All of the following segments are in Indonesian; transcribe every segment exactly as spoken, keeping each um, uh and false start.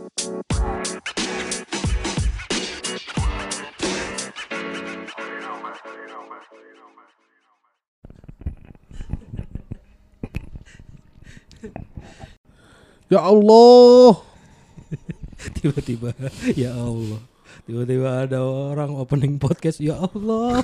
Ya Allah. Tiba-tiba ya Allah. Tiba-tiba ada orang opening podcast, ya Allah.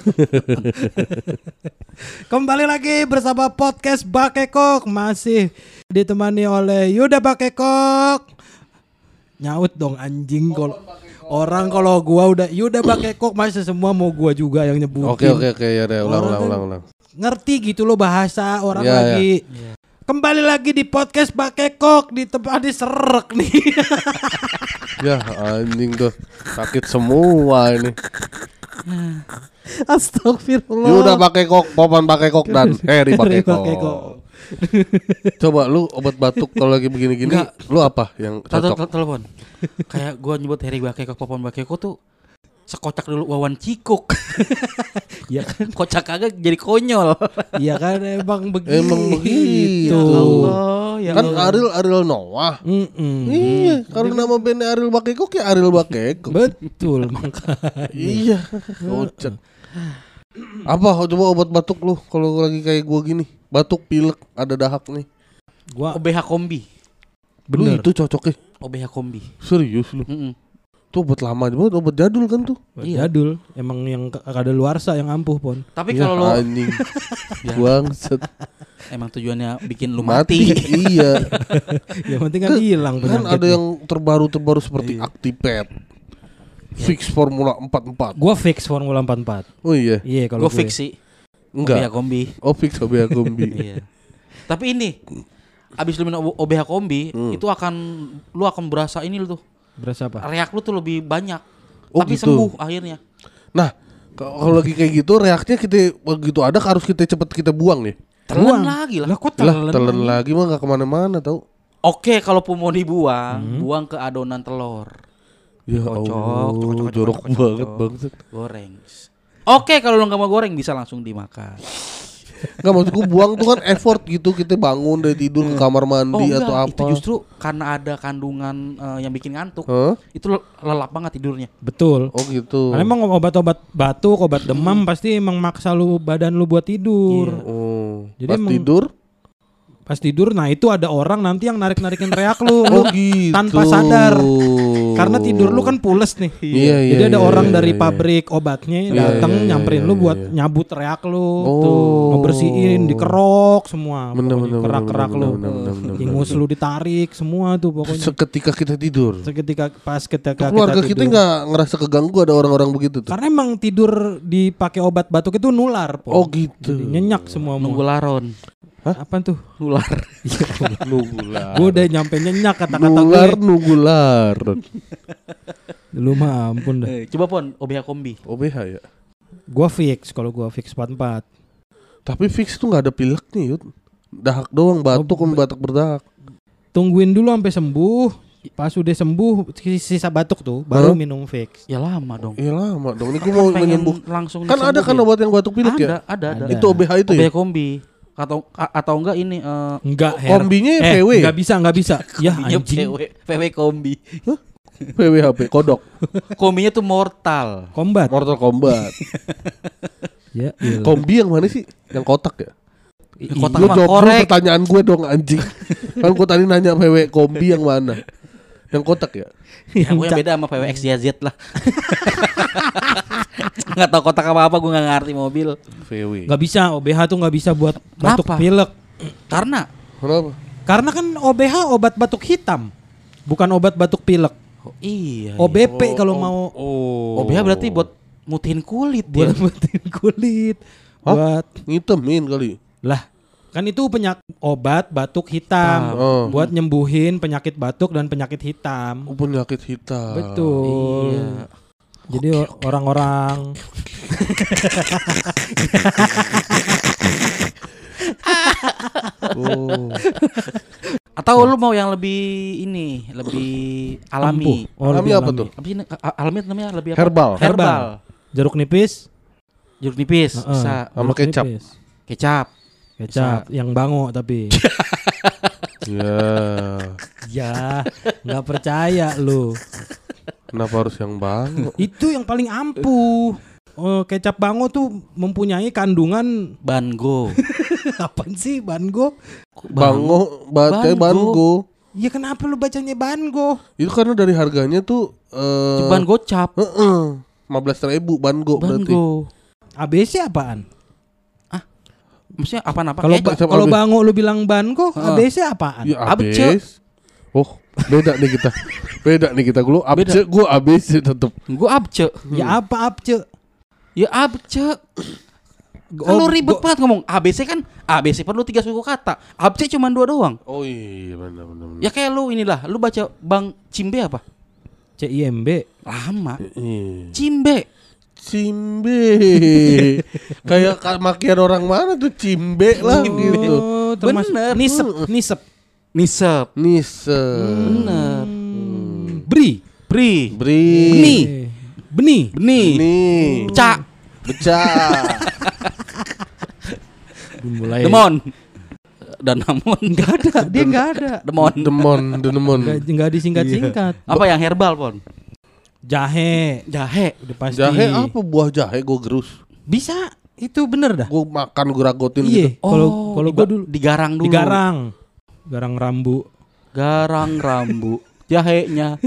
Kembali lagi bersama podcast Bakekok, masih ditemani oleh Yuda Bakekok. Nyaut dong anjing kalau orang kalau gua udah Yuda Bakekok, masih semua mau gua juga yang nyebutin. Oke oke oke ya udah ulang ulang ulang ulang. Ngerti gitu loh bahasa orang ya, lagi. Ya. Kembali lagi di podcast Bakekok, di tempat diserek nih. Ya anjing tuh sakit semua ini. Astagfirullah. Yuda Bakekok, Popan Bakekok dan Heri Bakekok. Coba lu obat batuk kalau lagi begini-gini, enggak. Lu apa yang cocok? Telepon. Kayak gua nyebut Heri Bakekok, Popan Bakekok tuh sekocak dulu Wawan Cikuk. Ya kan, kocak kagak jadi konyol. Iya kan, emang begitu. Emang begitu. Ya Allah, ya kan Allah. Ariel Ariel Noah. Mm-mm. Iya, kalau nama bandnya Ariel Bakekok ya Ariel Bakekok. Betul makanya. Iya, kocak. Apa coba obat batuk lu kalau lagi kayak gua gini? Batuk pilek ada dahak nih. Gua O B H kombi. Bener. Lu itu cocoknya. O B H kombi. Serius lu? Mm-mm. Tuh obat lama banget, obat jadul kan tuh. Iya. Jadul, emang yang kada luarsa yang ampuh pon. Tapi ya, kalau lu anjing. Bangset. Emang tujuannya bikin lu mati. mati. Iya. Yang penting kan hilang. Kan ada yang terbaru-terbaru seperti iya. Actipet. Fix Formula empat puluh empat. Gua fix Formula empat puluh empat. Oh iya. Iya kalau gua fix sih. Enggak. O B H kombi. Oh fix O B H kombi. Iya. Tapi ini abis lu minum O B H kombi, hmm. itu akan lu akan berasa ini lu tuh. Berasa apa? Reak lu tuh lebih banyak. Oh, tapi gitu. sembuh akhirnya. Nah, kalau lagi kayak gitu reaknya kita begitu ada harus kita cepet kita buang nih. Telan lagi lah. Lah kok telan? Lah, telan lagi mah nggak kemana-mana tau. Oke, kalaupun mau dibuang, hmm. buang ke adonan telur. Ya kocok, Allah, kocok, kocok, jorok kocok, banget kocok. banget. Goreng. Oke, kalau lu nggak mau goreng bisa langsung dimakan. Enggak, maksudku buang tuh kan effort gitu, kita bangun dari tidur ke kamar mandi oh, atau enggak, apa. Itu justru karena ada kandungan uh, yang bikin ngantuk. Huh? Itu lelap banget tidurnya. Betul. Oh gitu. Karena emang obat-obat batuk, obat demam pasti emang maksa lu badan lu buat tidur. Iya. Oh. Jadi pas emang, tidur Pas tidur, nah itu ada orang nanti yang narik-narikin reak lu, oh, lu gitu. tanpa sadar. Karena tidur lu kan pules nih. Iya, iya, jadi ada iya, orang iya, dari iya. pabrik obatnya Iya, datang iya, iya, nyamperin iya, lu iya, buat iya. nyabut reak lu, Oh. tuh ngebersihin, dikerok semua, Bener, pokoknya bener, kerak-kerak bener, lu, bener, bener, bener, ingus bener. lu ditarik semua tuh pokoknya. Seketika kita tidur. Seketika pas ketika Keluarga kita kita tidur. nggak ngerasa keganggu ada orang-orang begitu tuh. Karena emang tidur dipakai obat batuk itu nular, Po. Oh gitu. Jadi nyenyak semua. Nunggu laron. Hah? Apaan tuh? Nular. Nugular. Gue udah nyampe nyenyak kata-kata Nular, gue. nugular. Lu mah ampun dah. Eh, coba pon O B H kombi. O B H ya. Gua fix kalau gua fix empat puluh empat. Tapi fix tuh nggak ada pileknya, Yud. Dahak doang, batuk Oh, kan batuk berdahak. Tungguin dulu sampai sembuh. Pas udah sembuh sisa batuk tuh baru Huh? minum fix. Ya lama dong. Iya lama dong. Ini gue mau Pengen menyembuh. langsung Kan ada kan obat yang batuk pilek ada, ya? ada, ada, Ada. Itu O B H itu O B H ya? kombi. Atau a- atau enggak ini uh, Enggak, Her. Kombinya eh, V W. Enggak bisa, enggak bisa. Ya V anjing. W, V W kombi. V W H P, kodok. Kombinya tuh mortal. Kombat. Mortal Kombat. Ya, iya. Kombi yang mana sih? Yang kotak ya? Kotak Lu mah jawab dulu korek. pertanyaan gue dong anjing. Kan gue tadi nanya V W kombi yang mana? Yang kotak ya? Ya, gue yang beda sama V W X Y Z lah. Nggak tahu kotak apa apa, gue nggak ngerti mobil. V W. Enggak bisa, O B H tuh enggak bisa buat batuk Kenapa? pilek. Karena Kenapa? Karena kan O B H obat batuk hitam. Bukan obat batuk pilek. oh, iya. O B P Oh, kalau oh, mau Oh. O B H berarti buat mutihin kulit buat dia. mutihin kulit. Hah? Buat ngitemin kali. lah kan itu penyakit obat batuk hitam Oh. buat nyembuhin penyakit batuk dan penyakit hitam. Oh, penyakit hitam. Betul. Iya. Jadi o- orang-orang Oh. Atau lu mau yang lebih ini, lebih alami. ampuh. Oh, Alami lebih apa tuh? Apa sih ini? A- alami namanya lebih apa? Herbal. Herbal. Jeruk nipis, Jeruk nipis Heeh. bisa. Sama jeruk kecap. nipis. Kecap. Kecap yang bango tapi Ya. Ya, nggak percaya lu. Kenapa harus yang bango? Itu yang paling ampuh. Oh, kecap bango tuh mempunyai kandungan Bango. apaan sih bango? Bango, bacanya Bango. bango. Ya kenapa lu bacanya bango? Itu karena dari harganya tuh eh Ban gocap. heeh, lima belas ribu bango berarti. Bango. A B C apaan? Maksudnya apa-apa? Kalau Kayak ba- Kecap kalau A B. bango lu bilang bango, Heeh. A B C apaan? Ya Abce. abis. Oh, beda nih kita. Beda nih kita. Lu abce, gua abis tetep. Gua abce. Ya apa abce? Ya abce. Kan lu ribet banget ngomong A B C kan A B C perlu tiga suku kata. Abce cuma dua doang. Oh iya benar benar. benar. Ya kayak lu inilah, lu baca Bang Cimbe apa? C I M B. Lama. Iya. Cimbe. Cimbe. Kayak ka- makian orang mana tuh cimbe lah gitu. Oh, termasuk Bener. nisep, nisep. Nisep. Nise. Bener. Hmm. Bri. Bri. Bri. Beni. Eh, Beni. Beni. Nih. Cak. Becah. Mulai. Demon. Dan namun Enggak ada, dia enggak ada. Demon. Demon, demon. Enggak enggak disingkat-singkat. Apa yang herbal, Pon? Jahe. Jahe. Udah pasti. Jahe apa buah jahe gue gerus. Bisa. Itu bener dah. Gue makan gue ragotin Iya, gitu. kalau Oh, kalau diga- gua dulu digarang dulu. digarang. Garang rambu. Garang rambu. Jahenya.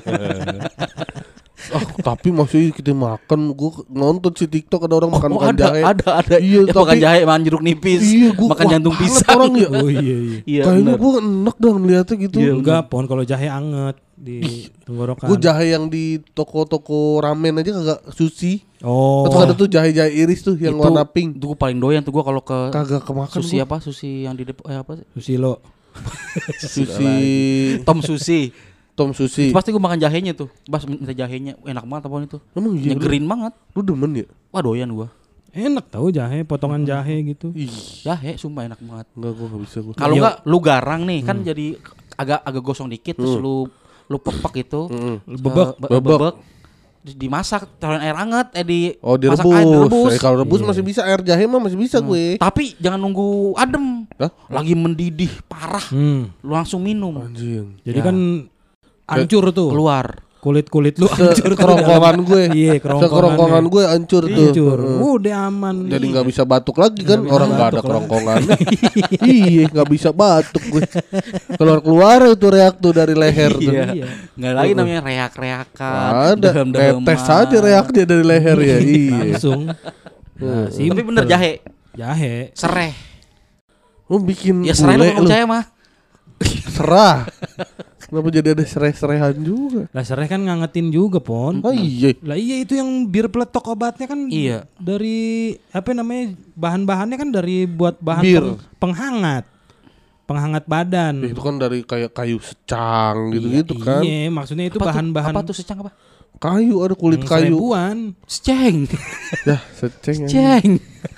Ah, tapi masih kita makan. Gue nonton si TikTok ada orang makan Oh, makan ada, jahe. ada, ada. Iya, Ya, makan tapi- jahe, makan jeruk nipis, Iya, gua makan kuat jantung banget pisang. orang ya. Oh iya iya. Iya, Kayaknya bener. gue enak dah ngeliatnya gitu. Iya, Enggak, pon kalau jahe anget di tenggorokan. Gue jahe yang di toko-toko ramen aja kagak sushi. Oh. Atau ada tuh jahe-jahe iris tuh yang Itu- warna pink. Itu gue paling doyan tuh gue kalau ke Kagak kemakan sushi gua. apa? Sushi yang di depan eh, apa sih? Susilo. Sushi Tom sushi. Tom sushi. Pasti gue makan jahenya tuh. Bas minta jahenya. Enak banget apaan itu. Emang iya. lu- Nyegerin banget. Lu demen ya? Wah doyan gue. Enak tahu jahe, potongan jahe gitu. Ih, Jahe sumpah enak banget. enggak gua enggak bisa gua. Kalau Iya. enggak lu garang nih kan jadi agak agak gosong dikit terus Hmm. lu lu pepek itu. Mm-mm. Bebek. Be- Bebek. bebek. Terus dimasak, taruhin air hangat eh di Oh masak direbus. air, direbus. Eh, kalau rebus Iya. masih bisa, air jahe mah masih bisa gue. Tapi jangan nunggu adem. Hah? Lagi mendidih parah. Hmm. Lu langsung minum. Anjing. Jadi Ya. kan hancur tuh. Keluar. Kulit-kulit lu hancur tuh. Kerongkongan gue. Iya, kerongkongan. Sekerongkongan gue hancur tuh. Hancur. Heeh. Udah aman. Jadi nggak bisa batuk lagi kan? Nggak bisa Orang nggak ada batuk lah. kerongkongan. Iya, nggak bisa batuk gue. Keluar keluar itu reak tuh dari leher tuh. Iya. Iya. Enggak lagi namanya reak-reakan. Ada. dehem-deheman. Tetes aja reaknya dari leher ya. Iya. Langsung. Nah, Tapi simple. bener jahe, Jahe. sereh. Lu bikin Ya sereh lu bule nggak percaya mah. serah. Kenapa jadi ada serai-seraihan juga? Lah sereh kan ngangetin juga, Pon. Oh iya. Lah iya itu yang bir peletok obatnya kan Iya. dari apa namanya bahan-bahannya kan dari buat bahan Bir. peng- penghangat. Penghangat badan. Itu kan dari kayak kayu secang gitu-gitu kan. Iya, maksudnya itu Apa tuh- bahan-bahan Apa tuh secang apa? Kayu ada kulit yang kayu. seribuan. Seceng. Ya, seceng. Seceng.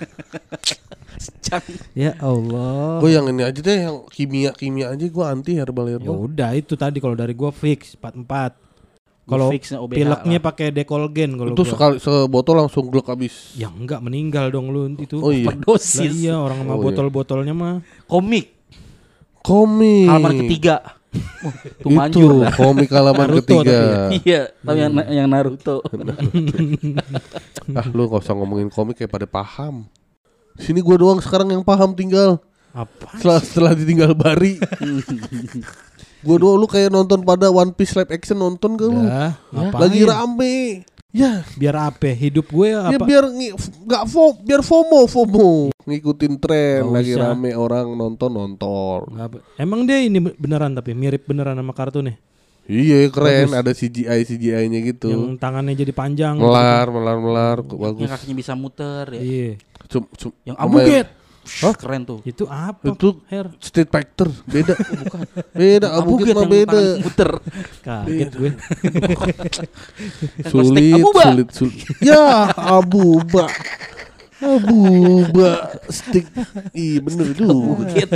Secang. Ya Allah. Gue yang ini aja deh, yang kimia-kimia aja gue anti herbal Ya herbal. udah itu tadi kalau dari gua fix empat empat. Kalau Fixnya O B H pileknya lah. pakai dekolgen kalau Itu gua. sekali sebotol langsung glek habis. Ya enggak meninggal dong lu itu. Oh iya. Lah Overdosis. iya orang sama Oh iya. botol-botolnya mah. Komik. Komik. Halaman ketiga. Wah, tuh Itu manjur dah. komik halaman Naruto ketiga. tapi ya. Iya, tapi yang yang Naruto. Ah lu gak usah ngomongin komik kayak pada paham. Sini gue doang sekarang yang paham tinggal. Apa? Setelah setelah ditinggal Bari. Gue doang, lu kayak nonton pada One Piece live action nonton gak lu? Ya, ngapain? Lagi rame. Ya, Biar apa? Hidup gue ya apa? biar ngi- f- nggak fo, biar FOMO FOMO ngikutin tren. Nggak Lagi usah. rame orang nonton nonton. Nggak apa- Emang dia ini beneran tapi mirip beneran sama kartunnya. Iya keren, Bagus. ada C G I C G I-nya gitu. Yang tangannya jadi panjang. Melar, melar, melar, bagus. Yang kakinya bisa muter ya. Iya. Cum, cum, Yang lumayan. abuget. Hah? Keren tuh. Itu apa? Itu Her. Street Fighter, beda. Bukan. Beda, abuget mah yang beda. tangan muter. Kaget gue. Sulit, Abuba. sulit, sulit. Ya, abuba. Abuba stick. Iya bener tuh. Abuget.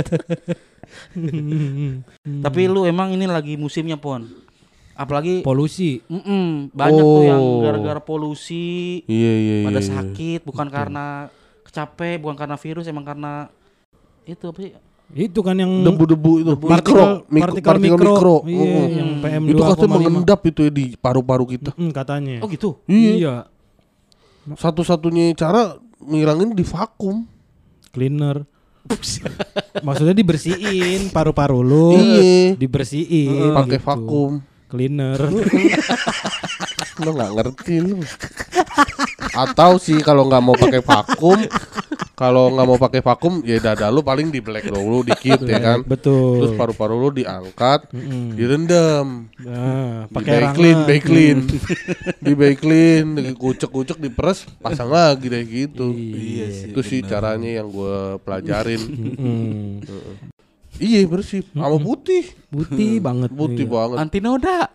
Tapi lu emang ini lagi musimnya Pon. Apalagi Polusi. mm-mm, banyak tuh yang Oh. gara-gara polusi Iya, iya, iya. pada iya. sakit bukan karena capek, bukan karena virus, emang karena itu apa sih? Itu kan yang debu-debu itu partikel mikro, mik- partikel partikel mikro, mikro. iya, Mm. yang P M Itu dua koma lima. katanya mengendap itu ya di paru-paru kita. Mm, katanya. Oh gitu. Iya. Satu-satunya cara ngilangin di vakum. Cleaner. Maksudnya dibersihin paru-paru lu. Iya. Dibersihin Pakai gitu. vakum. Cleaner. Lo nggak ngerti lu. Atau sih kalau nggak mau pakai vakum, kalau nggak mau pakai vakum ya dada lu paling di black dulu dikit ya kan. Betul. Terus paru-paru lu diangkat, Mm-mm. direndam. Nah, Di pakai clean, rangan. clean, di clean, dikucek-kucek, diperes, pasang lagi deh gitu. Iya sih, Itu sih caranya yang gue pelajarin. Mm-mm. Iya bersih, sama putih, Putih banget. putih iya. banget. Anti noda.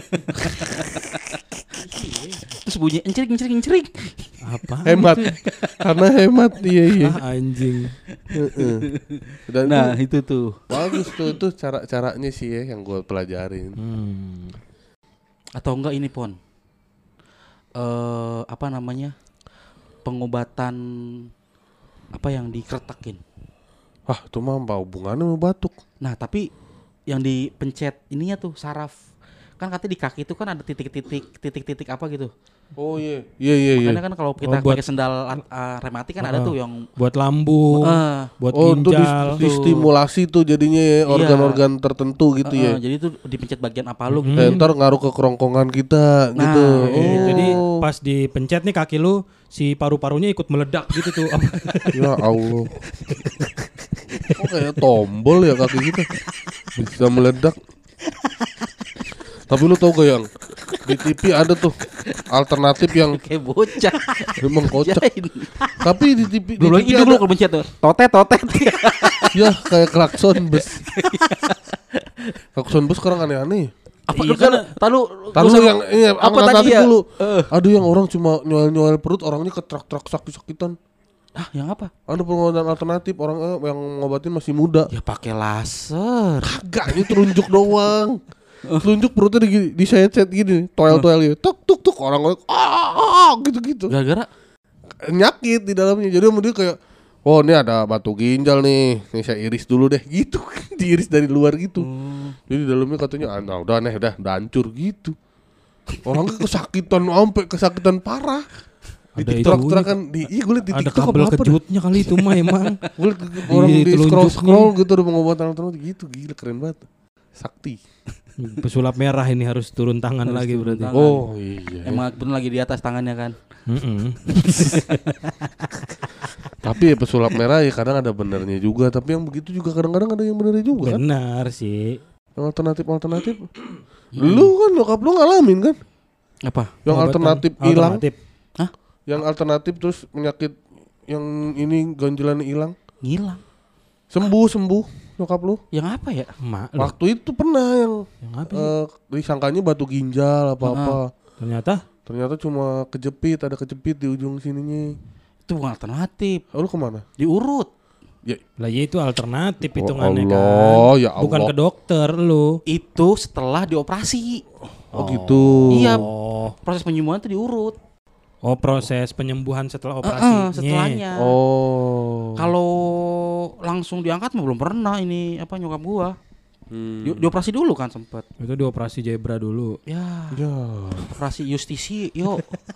Terus bunyi encering encering encering. Apa? Hemat, karena hemat iya iya. Ah, anjing. Heeh. Dan Nah, itu itu tuh. bagus tuh itu cara-caranya sih ya yang gue pelajarin. Hmm. Atau enggak ini Pon. Eh apa namanya? Pengobatan apa yang dikeretakin. Ah itu mah apa hubungannya sama batuk? Nah, tapi yang dipencet ininya tuh saraf. Kan katanya di kaki itu kan ada titik-titik titik-titik apa gitu. Oh iya, iya iya iya. Makanya kan kalau kita Oh, buat- pakai sendal uh, rematik kan ada Ah. tuh yang Buat lambung, Eh, buat Oh itu ginjal. di, distimulasi tuh jadinya ya, organ-organ tertentu gitu eh, ya. jadi tuh dipencet bagian apa lu Mm-mm. gitu. Eh, ntar ngaruh ke kerongkongan kita Nah, gitu. Iya, Oh. jadi pas dipencet nih kaki lu, si paru-parunya ikut meledak gitu tuh. Ya Allah. Kok kayak tombol ya kaki kita bisa meledak. Tapi lu tau gak yang di T V ada tuh alternatif yang Kayak bocah. memang kocak. Jain. Tapi di T V di Belum T V lagi itu ada dulu kalau pencet tuh. Totet totet. ya kayak klakson bus. Klakson bus sekarang aneh-aneh. Apa Iya, lu kan tahu Tahu yang ini apa alternatif tadi ya? dulu. Eh. Aduh yang orang cuma nyoel-nyoel perut orangnya ketrak-trak sakit-sakitan. Ah, yang apa? Ada pengobatan alternatif orang eh, yang ngobatin masih muda. Ya pakai laser. Kagak ini telunjuk doang. Telunjuk perutnya di di set gini, toel-toel gitu. Tuk tuk tuk orang orang ah gitu-gitu. Gara-gara Nyakit di dalamnya. Jadi dia kayak oh ini ada batu ginjal nih. Nih saya iris dulu deh gitu. Diiris dari luar gitu. Hmm. Jadi dalamnya katanya ah, nah, udah nih udah udah hancur gitu. Orangnya kesakitan sampai kesakitan parah. Di Ada TikTok kan di iya gue liat di Ada TikTok kabel apa-apa dah. kejutnya kali itu mah emang. Gue liat orang Iya, di telunjuknya. scroll scroll gitu ada pengobatan alternatif gitu gila keren banget. Sakti. Pesulap merah ini harus turun tangan Harus lagi turun berarti. tangan. Oh iya. emang bener lagi di atas tangannya kan. Mm-mm. Tapi ya pesulap merah ya kadang ada benernya juga. Tapi yang begitu juga kadang-kadang ada yang benernya juga kan. Benar sih. Yang alternatif-alternatif. Lu kan nyokap lu ngalamin kan. Apa? Yang Pengobatan alternatif hilang. alternatif. Yang alternatif terus penyakit yang ini ganjelannya hilang. Ngilang. Sembuh sembuh nyokap lu. Yang apa ya? Mak, lu. Waktu itu pernah yang Yang apa sih? eh, disangkanya batu ginjal apa-apa. Ternyata Ternyata cuma kejepit, ada kejepit di ujung sininya. Itu bukan alternatif. Oh, lu kemana? Diurut. Ya, lah ya itu alternatif Oh hitungannya Allah, kan. ya Bukan Allah. ke dokter lu. Itu setelah dioperasi. oh gitu. Iya. Oh. Proses penyembuhan itu diurut. Oh, proses penyembuhan setelah Eh, operasi. eh, setelahnya. Oh. Kalau langsung diangkat mah belum pernah ini apa nyokap gua. Hmm. Di, dioperasi dulu kan sempet. Itu dioperasi zebra dulu. Ya, Ya. operasi justisi, yuk.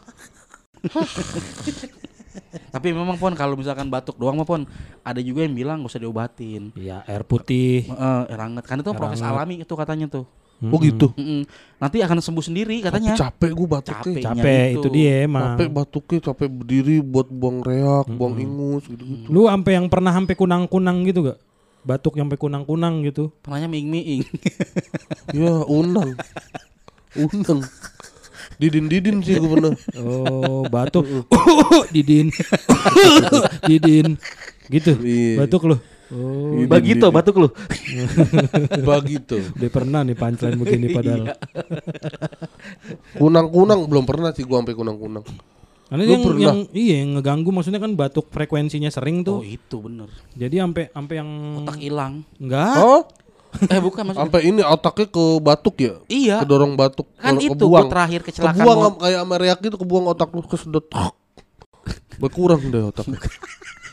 Tapi memang Pon kalau misalkan batuk doang mah Pon, ada juga yang bilang gak usah diobatin. Iya, air putih. Heeh, air hangat. Kan itu Air proses hangat. alami itu katanya tuh. Oh gitu. Mm-mm. Nanti akan sembuh sendiri Tapi katanya. capek gua batuknya. Capek. Capek itu. itu dia emang. Capek batuknya, capek berdiri buat buang reak, buang ingus gitu-gitu. Lu sampai yang pernah sampai kunang-kunang gitu gak? Batuk yang sampai kunang-kunang gitu. Pernahnya miing-miing. Ya, unang. Unang. Didin-didin sih gua pernah. Oh, batuk. Didin. Didin. Gitu. Iya. Batuk lu. Oh, Didin, Begitu didin. batuk lu. Begitu. udah pernah nih punchline begini padahal. Kunang-kunang belum pernah sih gua sampai kunang-kunang. Karena Lu yang, pernah? yang iya yang ngeganggu maksudnya kan batuk frekuensinya sering Oh tuh. itu bener. Jadi sampai sampai yang Otak hilang. enggak. Oh, Eh bukan maksudnya. sampai ini otaknya ke batuk ya? Iya. Kedorong batuk. Kan Ke- itu kebuang. gua terakhir kecelakaan. Kebuang mot- am- kayak sama reak gitu, kebuang otak lu kesedot. Berkurang deh otaknya.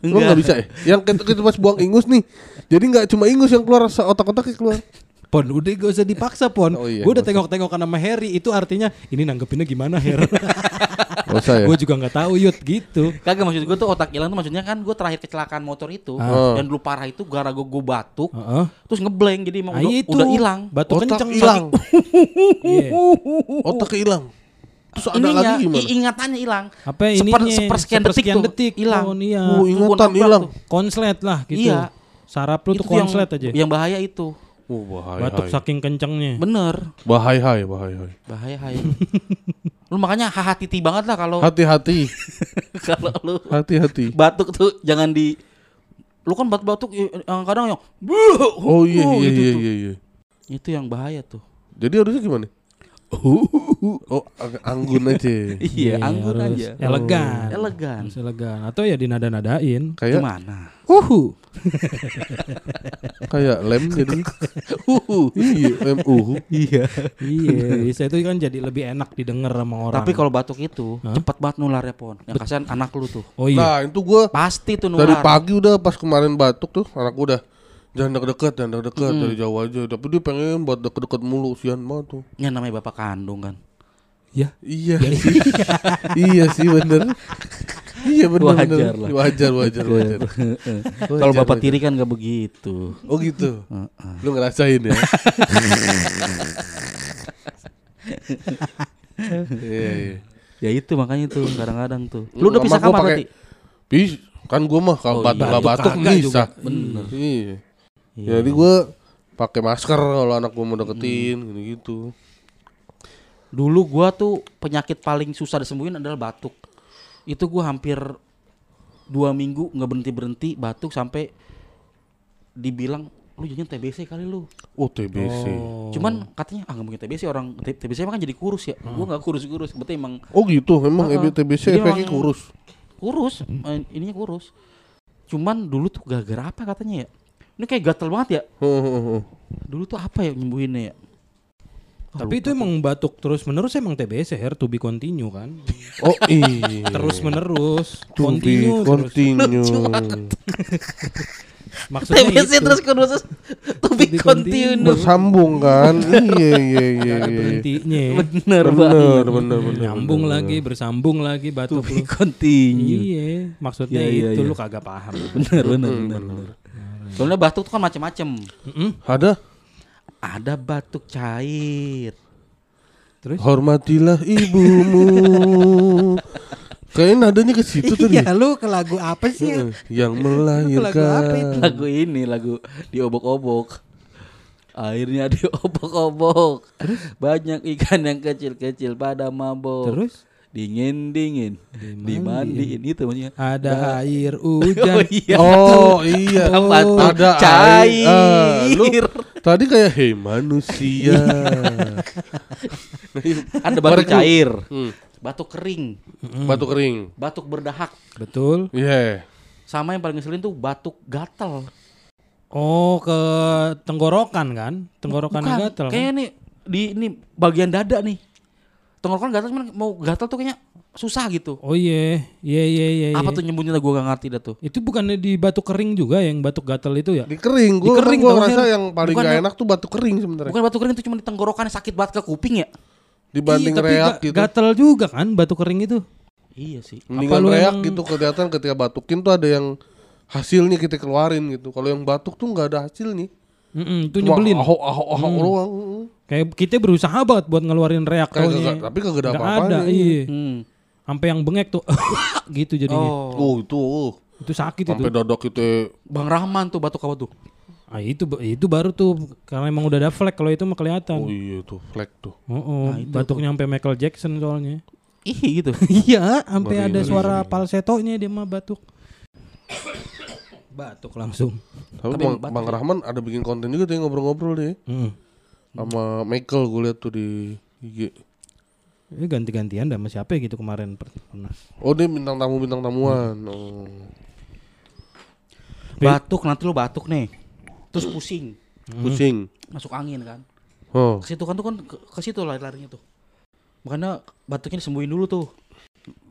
Lu nggak bisa ya? Yang kita, kita pas buang ingus nih. Jadi nggak cuma ingus yang keluar, otak-otaknya keluar. Pon, udah gak usah dipaksa Pon. Oh, iya, gue udah gak tengok-tengok sama Harry, itu artinya ini nanggepinnya gimana Her? Gak usah ya? Gue juga nggak tahu Yud gitu. Kagak, maksud gue tuh otak hilang tuh maksudnya kan gue terakhir kecelakaan motor itu Ah. yang dulu parah itu gara gue gue batuk, Heeh. terus ngeblank jadi emang Ah, udah itu. udah hilang. Batuk Otak kenceng hilang. Iya. Otak hilang. Terus ada Ininya, lagi gimana? i- ingatannya hilang. Apa Seper, ininya? sepersekian detik sepersekian tuh detik. hilang. Oh, iya. Oh, Itu ingatan gua nabrak hilang. tuh. Konslet lah gitu. Iya. Saraf lu Itu tuh tuh yang, konslet aja. yang bahaya itu. Oh, bahaya. Batuk saking kencengnya. Bener. Bahaya, hai, bahaya. hai. Bahaya hai. Lu makanya hati-hati banget lah kalau Hati-hati, kalau lu hati-hati. batuk tuh jangan di lu kan batuk-batuk yang kadang yang Oh iya iya gitu iya tuh. iya iya. Itu yang bahaya tuh. Jadi harusnya gimana? Oh, ag- anggun aja. Iya, anggun harus aja. Elegan. Elegan. Harus elegan. Atau ya dinada-nadain. Kayak Gimana? Uhu. kayak lem jadi. Uhu. Iya, lem uhu. Iya. Iya, bisa itu kan jadi lebih enak didengar sama orang. Tapi kalau batuk itu Hah? cepat banget nularnya Pon. Yang kasihan anak lu tuh. oh iya. Nah, itu gua Pasti tuh dari nular. pagi udah pas kemarin batuk tuh anak gua udah jangan deket-deket, jangan deket-deket dari jauh aja. Tapi dia pengen buat deket-deket mulu, sian banget tuh. Yang namanya bapak kandung kan. Ya. Iya sih. Iya sih bener. Iya bener Wajar bener. lah. Wajar wajar wajar. Kalau bapak tiri kan gak begitu. Oh gitu. Lu ngerasain ya. Iya iya. Ya itu makanya tuh kadang-kadang tuh. Lu udah Sama pisah gua kamar pakai- berarti? Bis, kan gua mah kalau Oh, batuk iya. nggak batuk Batuk kagak bisa. juga. Bener. Iya. Iya. Jadi gua pakai masker kalau anak gua mau deketin gitu-gitu. Dulu gua tuh penyakit paling susah disembuhin adalah batuk. Itu gua hampir dua minggu nggak berhenti berhenti batuk sampai dibilang lu jangan T B C kali lu. Oh T B C. Oh. Cuman katanya ah nggak mungkin T B C, orang T- TBC emang kan jadi kurus ya. Gua nggak kurus-kurus, berarti emang Oh gitu, memang Uh-uh. T B C Jadi efeknya emang- kurus. kurus, eh, ininya kurus. Cuman dulu tuh gara-gara apa katanya ya? Ini kayak gatel banget ya. Dulu tuh apa ya nyembuhinnya ya? Tapi itu emang batuk terus menerus emang T B C Her, to be continue kan. Oh iya. Terus menerus. To be Continue terus. continue. Maksudnya T B C itu. terus kurus to be be continue. Bersambung kan? Iya iya iya Ada iya. berhentinya. Bener Bener banget. bener bener. Nyambung bener, lagi, bersambung lagi To batuk be lu. continue. Iya, maksudnya Iya, iya, itu iya. lu kagak paham. Bener bener bener. bener. Soalnya batuk tuh kan macam-macam. Mm-mm. Ada? Ada batuk cair. Terus? Hormatilah ibumu. Kayaknya nadanya ke situ tadi. Iya, lu ke lagu apa sih? Heeh, yang lagu apa itu? melahirkan. Lagu ini lagu diobok-obok. Airnya diobok-obok. Banyak ikan yang kecil-kecil pada mabok. Terus? Dingin-dingin dimandiin itu maksudnya. Ada air hujan. Oh iya. Oh iya. Ada batuk Ada cair. air. Ah, lu tadi kayak hei manusia. Ada batuk Korek lu. cair, Hmm. batuk kering, Batuk kering. batuk berdahak. Betul. Iya. Sama yang paling ngeselin tuh batuk gatal. Oh, ke tenggorokan kan? Tenggorokan Bukan, gatel kan? Kayaknya nih di ini bagian dada nih. Tenggorokan gatal cuman mau gatal tuh kayaknya susah gitu. Oh iya, iya iya iya. Apa iya. tuh nyembunyinya gue gak ngerti dah tuh. Itu bukannya di batuk kering juga yang batuk gatal itu ya? Di kering. Di Gua kering gua tau, ngerasa Her. yang paling Bukan gak yang- enak tuh batuk kering sebenarnya. Bukan batuk kering itu cuma di tenggorokan sakit banget ke kuping ya. Dibanding Iya, tapi reak ga- gitu. gatal juga kan batuk kering itu. Iya sih. Mendingan lu reak emang- gitu kelihatan ketika batukin tuh ada yang hasilnya kita keluarin gitu. Kalau yang batuk tuh nggak ada hasilnya. Mm-mm, itu Cuma nyebelin. ahok ahok ahok Hmm. doang. Kayak kita berusaha banget buat ngeluarin reak Kayak taunya. kagak- tapi kagak ada Nggak apa-apanya. ada, iya. Hmm. Sampai yang bengek tuh gitu jadinya. Oh. Oh itu, oh. Itu sakit Sampai itu. dodok kita. Bang Rahman tuh batuk apa tuh? Ah, itu itu baru tuh karena emang udah ada flek, kalau itu mah kelihatan. Oh iya tuh, flek tuh. Oh, oh, Nah, itu batuknya sampai Michael Jackson soalnya. Ih gitu. Iya, sampai Ngeri, ada ngeri, suara ngeri. falsetonya dia mah batuk. Batuk langsung. Tapi, Tapi Bang, batuk Bang ya. Rahman ada bikin konten juga tuh yang ngobrol-ngobrol deh. Hmm. Sama Michael gue liat tuh di I G. Ini ganti-gantian dah sama siapa ya gitu kemarin per- pernah. Oh dia bintang tamu bintang tamuan. Oh. Batuk nanti lu batuk nih. Terus pusing, Pusing. masuk angin kan. Oh. Ke situ kan tuh kan ke, ke situ lari-larinya tuh. Makanya batuknya disembuhin dulu tuh.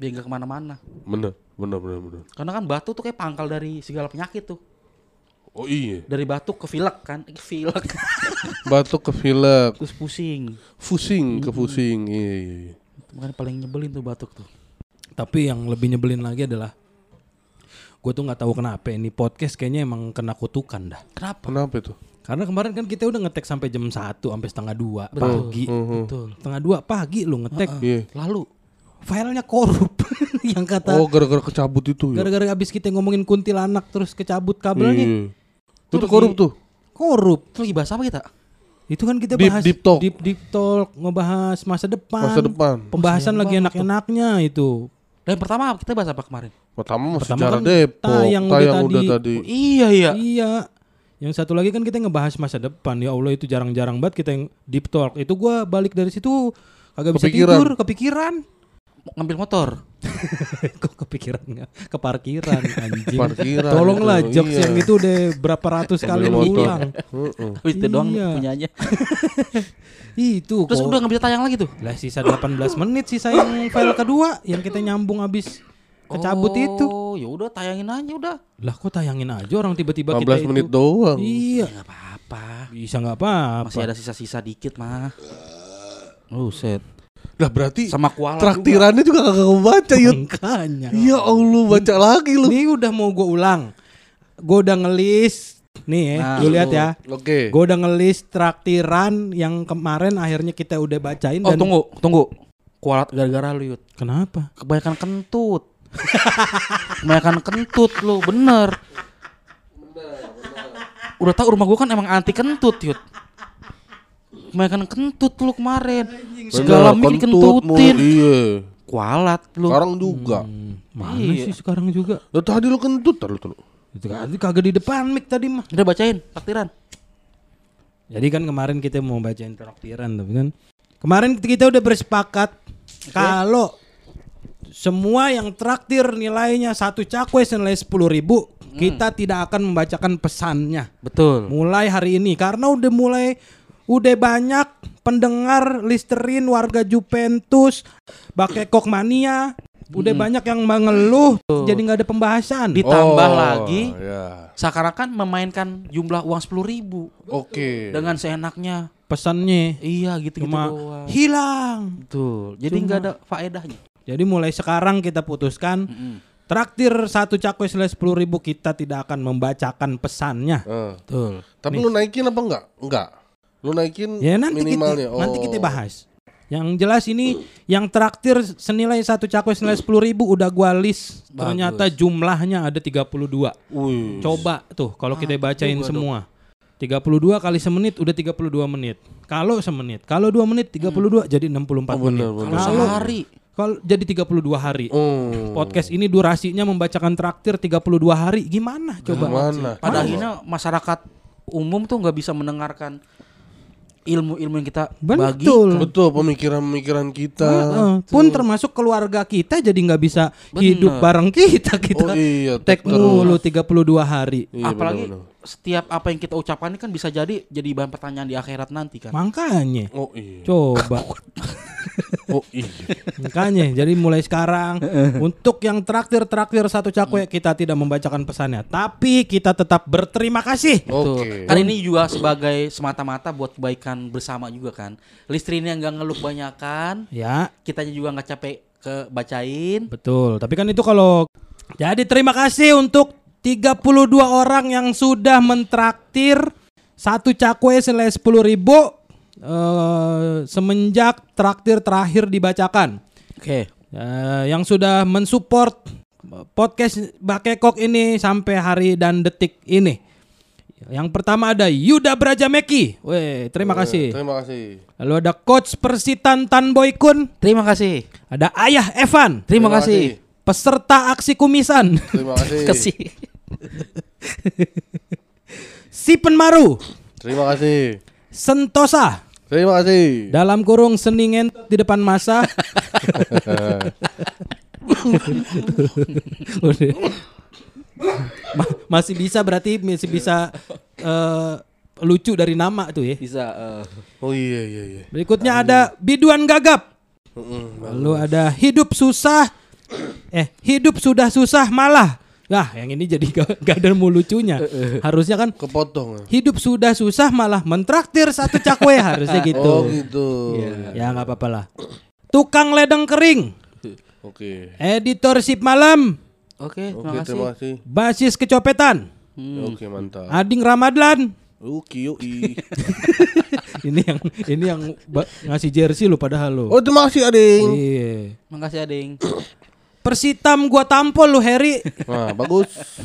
biar nggak kemana-mana. Bener, bener, bener, bener. Karena kan batuk tuh kayak pangkal dari segala penyakit tuh. Oh iya. Dari batuk ke pilek kan, ke pilek. Batuk ke pilek, Terus pusing. pusing ke pusing. Iya, iya, iya. Makanya paling nyebelin tuh batuk tuh. Tapi yang lebih nyebelin lagi adalah gue tuh nggak tahu kenapa ini podcast kayaknya emang kena kutukan dah. Kenapa? Kenapa itu? Karena kemarin kan kita udah ngetek sampai jam satu sampai setengah dua Betul. pagi. Betul. Setengah dua pagi lu ngetek. Iya. Lalu Filenya korup. Yang kata Oh, gara-gara kecabut itu ya. gara-gara abis kita ngomongin kuntilanak terus kecabut kabelnya. Iya. Itu Itu korup lagi- tuh. Korup. itu lagi bahas apa kita? Itu kan kita Deep- bahas deep talk. deep, deep talk, ngebahas masa depan. Masa depan. Pembahasan Sayang lagi banget enak-enaknya itu. Dan pertama kita bahas apa kemarin? Pertama masih Pertama sejarah kan Depok, tayang udah tayang tadi. udah tadi. Oh, iya iya. Iya. Yang satu lagi kan kita ngebahas masa depan. Ya Allah itu jarang-jarang banget kita yang deep talk. Itu gua balik dari situ kagak bisa Kepikiran. tidur, kepikiran. Ngambil motor. Kok kepikiran nggak? Ke parkiran anjing. Parkiran Tolonglah itu, jokes iya. yang itu udah berapa ratus kali Ambil lu motor. ulang. Heeh. Oh, itu doang Iya. punyanya. Itu Terus kok. udah nggak bisa tayang lagi tuh. Lah sisa delapan belas menit sisa yang file kedua yang kita nyambung abis kecabut itu. Oh, ya udah tayangin aja udah. Lah kok tayangin aja orang tiba-tiba lima belas kita menit itu. doang. Iya. Enggak apa-apa. Bisa nggak apa-apa. Masih ada sisa-sisa dikit mah. Oh, set. Lah berarti Sama kuala traktirannya juga kagak kebaca Yud. Makanya. Ya Allah, baca lagi lu. Ini udah mau gue ulang. Gue udah ngelis. Nih ya, Nah, lu lihat ya. Oke. Gue udah ngelis traktiran yang kemarin akhirnya kita udah bacain. Oh, dan tunggu, tunggu. Kualat gara-gara lu, Yud. Kenapa? Kebanyakan kentut. Kebanyakan kentut lu, bener. Udah tau rumah gua kan emang anti kentut, Yud. Kebanyakan kentut lu kemarin. Segala mie kentut mulu, dikentutin. Iya. Kualat lu. Sekarang juga. Hmm, mana Iya. sih sekarang juga? Lah tadi lu kentut tadi lu. Itu tadi kagak di depan mic tadi mah. Udah bacain taktiran. Jadi kan kemarin kita mau bacain traktiran tapi kan kemarin kita udah bersepakat kalau semua yang traktir nilainya satu cakwe senilai sepuluh ribu kita tidak akan membacakan pesannya Betul. mulai hari ini karena udah mulai udah banyak pendengar Listerin warga Juventus Bakekok Mania udah banyak yang mengeluh jadi nggak ada pembahasan. Ditambah Oh, lagi ya. seakan-akan memainkan jumlah uang sepuluh ribu Oke. dengan seenaknya. Pesannya Iya gitu-gitu cuma doang. hilang. Betul. Jadi nggak ada faedahnya. Jadi mulai sekarang kita putuskan traktir satu cakwe senilai sepuluh ribu kita tidak akan membacakan pesannya. Eh. Betul. Tapi lu naikin apa enggak? Enggak. Lu naikin Ya nanti minimalnya. kita, nanti Oh. kita bahas. Yang jelas ini yang traktir senilai satu cakwe senilai sepuluh ribu udah gua list. Bagus. Ternyata jumlahnya ada tiga puluh dua. Wih. Coba tuh kalau kita Ah, bacain juga semua. tiga puluh dua kali semenit udah tiga puluh dua menit. Kalau semenit, kalau dua menit tiga puluh dua jadi enam puluh empat Oh, menit. benar, benar. Kalau Kalau sehari. kalau jadi tiga puluh dua hari. Oh. Podcast ini durasinya membacakan traktir tiga puluh dua hari. Gimana coba? Gimana? Pada akhirnya masyarakat umum tuh nggak bisa mendengarkan ilmu-ilmu yang kita bagi. Betul. Betul, pemikiran-pemikiran kita. Heeh. Pun termasuk keluarga kita jadi nggak bisa Bener. hidup bareng kita kita. Oh iya, Tek terus. mulu tiga puluh dua hari. Iya, Apalagi benar-benar. setiap apa yang kita ucapkan ini kan bisa jadi jadi bahan pertanyaan di akhirat nanti kan. Makanya Oh iya. coba. Oh iya. Makanya jadi mulai sekarang untuk yang traktir-traktir satu cakwe kita tidak membacakan pesannya, tapi kita tetap berterima kasih. Betul. Oke. Kan ini juga sebagai semata-mata buat kebaikan bersama juga kan. Listrin yang nggak ngeluh banyakan, Ya, kitanya juga nggak capek ke bacain. betul. Tapi kan itu kalau jadi terima kasih untuk tiga puluh dua orang yang sudah mentraktir satu cakwe senilai sepuluh ribu eh, semenjak traktir terakhir dibacakan. Oke. Eh, yang sudah mensupport podcast Bakekok ini sampai hari dan detik ini. Yang pertama ada Yuda Brajameki. Weh, terima kasih. Terima kasih. Lalu ada Coach Persitan Tan Boykun. Terima kasih. Ada Ayah Evan. Terima, Terima kasih. Peserta aksi kumisan. Terima kasih. Kasih. Si Penmaru. Terima kasih. Sentosa. Terima kasih. Dalam kurung seningen di depan masa. Udah. Ma- masih bisa berarti masih bisa eh, lucu dari nama tuh ya. Bisa. eh, Oh iya iya iya. Berikutnya ada Biduan Gagap. Mm-mm. Lalu ada Hidup Susah Eh, hidup sudah susah malah. Nah, yang ini jadi gak, gak ada mau lucunya. Harusnya kan Kepotong. hidup sudah susah malah mentraktir satu cakwe, harusnya gitu. Oh gitu. Ya nggak apa-apa lah. Tukang ledeng kering. Oke. Editor sip malam. Oke, Oke, terima kasih. terima kasih. Basis kecopetan. Oke, mantap. Ading Ramadhan. Oke, yoi. Ini yang ini yang ba- ngasih jersey lu padahal lu. Oh, terima kasih, Ading. Iya. Makasih Ading. Persitam gua tampol lu Heri. Nah, bagus.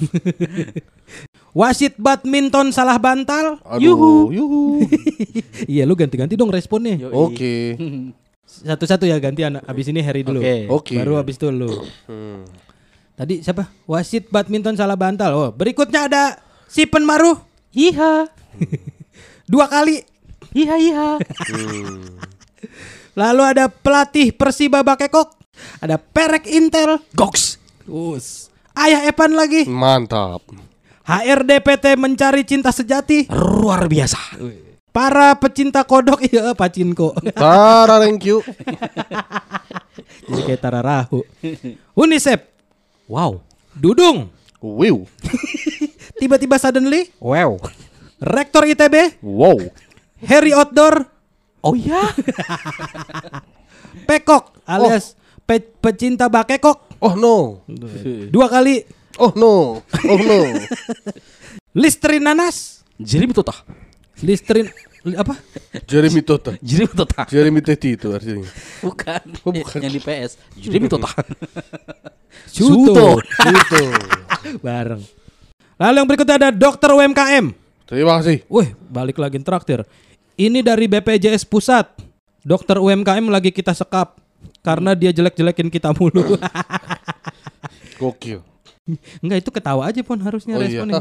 Wasit badminton salah bantal. Aduh, Yuhu. yuhu. Iya lu ganti-ganti dong responnya. Yoi. Oke. Satu-satu ya gantian. Abis ini Heri dulu. Oke. Oke. Baru abis itu lu. Hmm. Tadi siapa? Wasit badminton salah bantal. Oh, berikutnya ada si Penmaruh Iha. dua kali. Iha iha. Hmm. Lalu ada pelatih Persiba Bakekok. Ada Perek Intel. Goks. Us. Ayah Epan lagi. Mantap. H R D P T mencari cinta sejati. Luar biasa. Para pecinta kodok. Iya pacinko. Tara, thank you. Jadi kayak Tararahu. Unicef. Wow. Dudung. Wiw. Tiba-tiba suddenly. Wow. Rektor I T B. Wow. Harry Outdoor. Oh ya. Pekok alias pe- pecinta bakekok. Oh no. Dua kali. Oh no. Oh no. Listrin nanas. Jeremy Tota. Listrin li- apa? Jeremy Tota. Jeremy Tota. Jeremy Teti itu artinya. Bukan. Oh, bukan. Yang di P S. Jeremy Tota. Suto. Itu. Bareng. Lalu yang berikutnya ada dokter U M K M. Terima kasih. Wih, balik lagi traktir. Ini dari B P J S Pusat. Dokter U M K M lagi kita sekap karena dia jelek-jelekin kita mulu. Gokil. Enggak, itu ketawa aja pun harusnya Oh iya. responnya.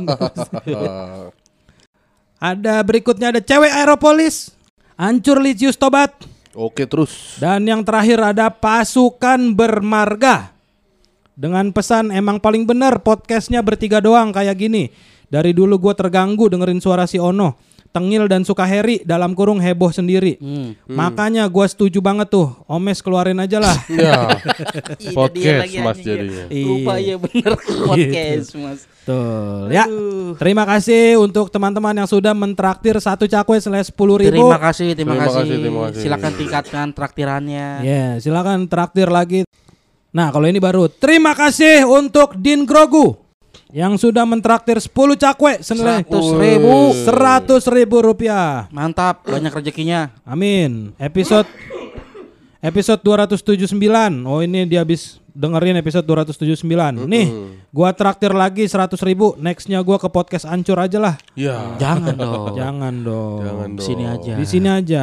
Ada berikutnya ada cewek Aeropolis. Hancur Licius tobat. Oke, terus. Dan yang terakhir ada pasukan bermarga. Dengan pesan emang paling bener podcastnya bertiga doang kayak gini. Dari dulu gue terganggu dengerin suara si Ono, Tengil dan Sukaheri dalam kurung heboh sendiri. Hmm. Makanya gue setuju banget tuh. Omes keluarin aja lah. Ya. Iya, Podcast dia lagi Mas anjing, jadinya. ya. Lupa ya bener podcast Mas. Tuh ya. Terima kasih untuk teman-teman yang sudah mentraktir satu cakwe senilai sepuluh ribu. Terima kasih, terima, Terima kasih. kasih, terima kasih. Silakan tingkatkan traktirannya. Ya, silakan traktir lagi. Nah, kalau ini baru. Terima kasih untuk Din Grogu yang sudah mentraktir sepuluh cakwe senilai Seratus ribu. seratus ribu rupiah. Mantap, banyak rezekinya. Amin. Episode episode dua ratus tujuh puluh sembilan. Oh, ini dia habis dengerin episode dua ratus tujuh puluh sembilan. Nih, gua traktir lagi seratus ribu. Nextnya gua ke podcast Ancur aja lah. Ya. Jangan dong. Jangan dong. Jangan Di dong. sini aja. Di sini aja.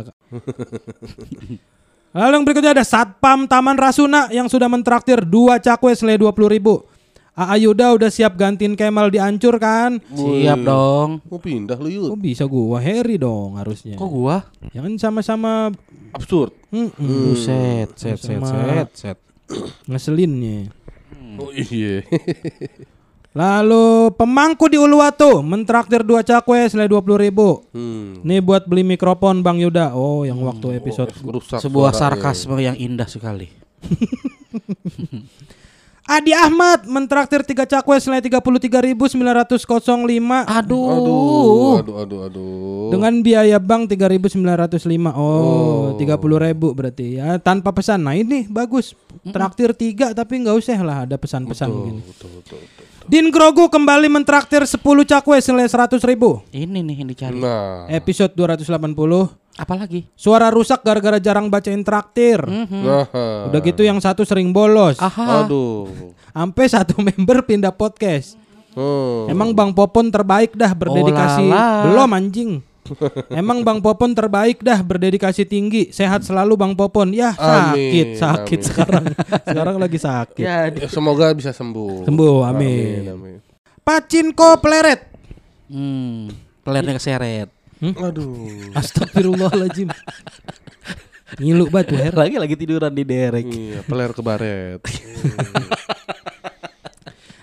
Lalu yang berikutnya ada Satpam Taman Rasuna yang sudah mentraktir dua cakwe senilai dua puluh ribu. A A Yuda udah siap gantiin Kemal di Ancur kan? Siap dong. Mau pindah lu yuk. Kok bisa gua Harry dong harusnya. Kok gua? Ya kan sama-sama Absurd. mm-mm. Buset, set, set, Sama- set, set. ngeselinnya. Oh iya. Lalu pemangku di Uluwatu mentraktir dua cakwe senilai dua puluh ribu. Hmm. Nih buat beli mikrofon Bang Yuda. Oh, yang waktu episode Rusak Sebuah suaranya. sarkasme yang indah sekali. Adi Ahmad mentraktir tiga cakwe senilai tiga puluh tiga ribu sembilan ratus lima Aduh. Aduh, aduh, aduh, aduh. dengan biaya bank tiga ribu sembilan ratus lima. Oh, tiga puluh ribu berarti ya tanpa pesan. Nah, ini bagus. Traktir tiga tapi nggak usah lah ada pesan-pesan betul, gini. betul, betul, betul. Din Grogu kembali mentraktir sepuluh cakwe senilai seratus ribu. Ini nih yang dicari. Nah, Episode dua ratus delapan puluh. Apalagi? Suara rusak gara-gara jarang bacain traktir. nah. Udah gitu yang satu sering bolos. Aha. Aduh. Sampai satu member pindah podcast. Hmm. Emang Bang Popon terbaik dah berdedikasi. Oh lala. Belum anjing. Emang Bang Popon terbaik dah berdedikasi tinggi. Sehat selalu Bang Popon. Ya sakit, Amin, sakit amin. sekarang. Sekarang lagi sakit. Ya, Ya, semoga bisa sembuh. Sembuh, amin. Amin, amin. Pacinko peleret. hmm, pelernya keseret. Aduh. Astagfirullahaladzim. Ngilu banget tuh Her. Lagi lagi tiduran di derek. Iya, peler ke baret.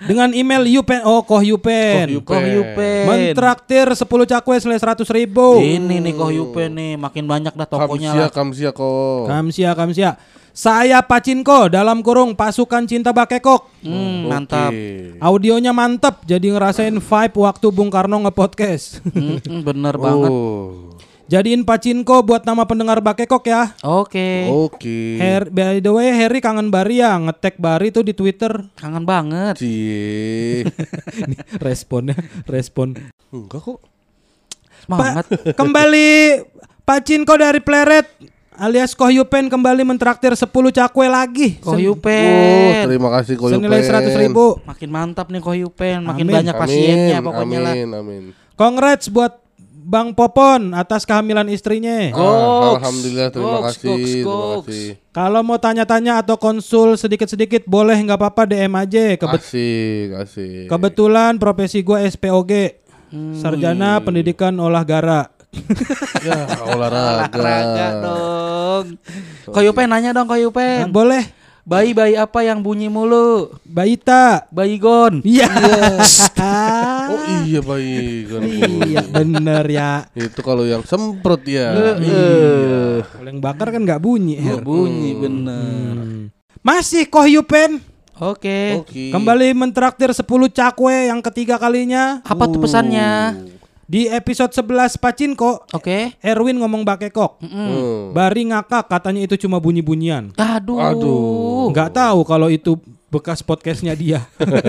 Dengan email Yupen. Oh, Koh Yupen. Koh Yupen. Mentraktir sepuluh cakwe senilai seratus ribu. Ini nih Koh Yupen nih, makin banyak dah tokonya Kamsia, lah. kamsia kok. Kamsia, kamsia. Saya Pacinko dalam kurung pasukan cinta Bakekok. Hmm, mantap. Oke. Audionya mantep, jadi ngerasain vibe waktu Bung Karno nge-podcast. Hmm, bener banget. Oh. Jadiin Pacinko buat nama pendengar Bakekok ya. Oke. Oke. Her, by the way, Harry kangen Bari ya, ngetek Bari tuh di Twitter. Kangen banget. Cie. Nih, responnya, respon. Enggak kok. Semangat. Pa- kembali Pacinko dari Pleret alias Koh Yupen kembali mentraktir sepuluh cakwe lagi. Koh Sen- Oh, Yupen. terima kasih Koh senilai Yupen. seratus ribu. Makin mantap nih Koh Yupen, makin Amin. banyak pasiennya pokoknya lah. Amin, amin. Congrats buat Bang Popon atas kehamilan istrinya. Goks. Ah, Alhamdulillah, terima Goks, kasih. goks, Terima goks. kasih. Kalau mau tanya-tanya atau konsul sedikit-sedikit boleh nggak apa-apa D M aja. Kebet- Asik, asik. kebetulan profesi gue S P O G, Hmm. Sarjana Pendidikan Olahraga. Ya, olahraga. Olahraga dong. Koh Yupen nanya dong Koh Nah, Yupen. boleh. Bayi-bayi apa yang bunyi mulu? Baita. Bayigon. Iya. Oh iya baik kan. Iya bener ya. Itu kalau yang semprot ya. Iya. Kalau yang bakar kan nggak bunyi. Her. Bunyi bener. Hmm. Masih Koh Yupen Oke. Oke. kembali mentraktir sepuluh cakwe yang ketiga kalinya. Apa tuh pesannya? Di episode sebelas Pacinko, Oke. Erwin ngomong Bakekok. Hmm. Bari ngakak katanya itu cuma bunyi-bunyian. Aduh. Aduh. Nggak tahu kalau itu bekas podcastnya dia.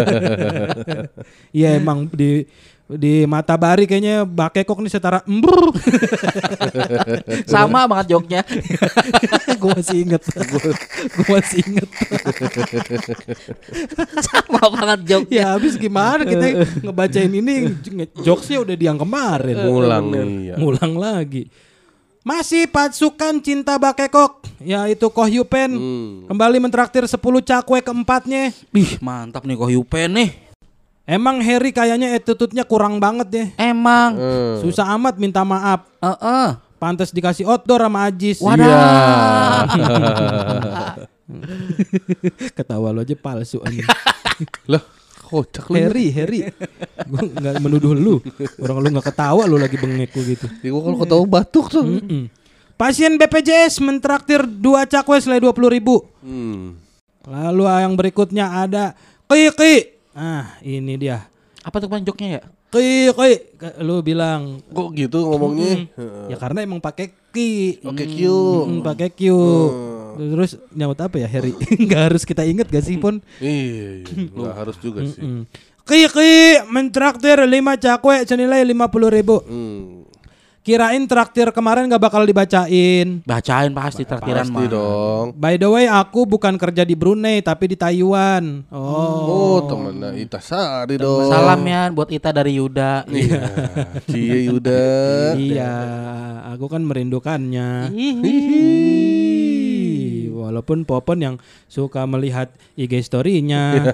Iya emang di di mata Bari kayaknya Bakekok nih setara embrr. Sama banget joknya. Gue masih inget. Gue masih inget. Sama banget joknya. Ya habis gimana kita ngebacain ini nge- jokesnya udah diang kemarin. Ngulang nih. Ya. Ngulang lagi. Masih pasukan cinta Bakekok, yaitu Koh Yupen Hmm. kembali mentraktir sepuluh cakwe keempatnya. Ih, mantap nih Koh Yupen nih. Emang Harry kayaknya attitude-nya kurang banget deh. Emang. Hmm. Susah amat minta maaf. Heeh. Pantes dikasih outdoor sama Ajis. Wadah. Iya. Ketawa lo aja palsu anjing. Lah, kocak lu. Harry, Harry. Gue nggak menuduh lu. Orang lu nggak ketawa lu lagi bengek lu gitu. Ya, gua kalau ketawa batuk tuh. Mm-mm. Pasien B P J S mentraktir dua cakwe senilai dua puluh ribu. Hmm. Lalu yang berikutnya ada Kiki. Ah, ini dia. Apa tuh kemarin joknya ya? Kiki. Lu bilang Kok gitu ngomongnya? ya karena emang pakai ki. Oke, Q. Mm, pakai Q. Terus nyaut apa ya Harry? Nggak harus kita inget gak sih Pon? Iya, nggak harus juga sih. Mm. Kiki mentraktir lima cakwe senilai lima puluh ribu. Hmm. Kirain traktir kemarin gak bakal dibacain. Bacain pasti traktiran Pasti mah. dong. By the way, aku bukan kerja di Brunei tapi di Taiwan. Oh, Oh, temennya Ita Sari dong. Salam ya buat Ita dari Yuda. Iya. Cie Yuda. iya, aku kan merindukannya. Hihi. Walaupun Popon yang suka melihat I G story-nya.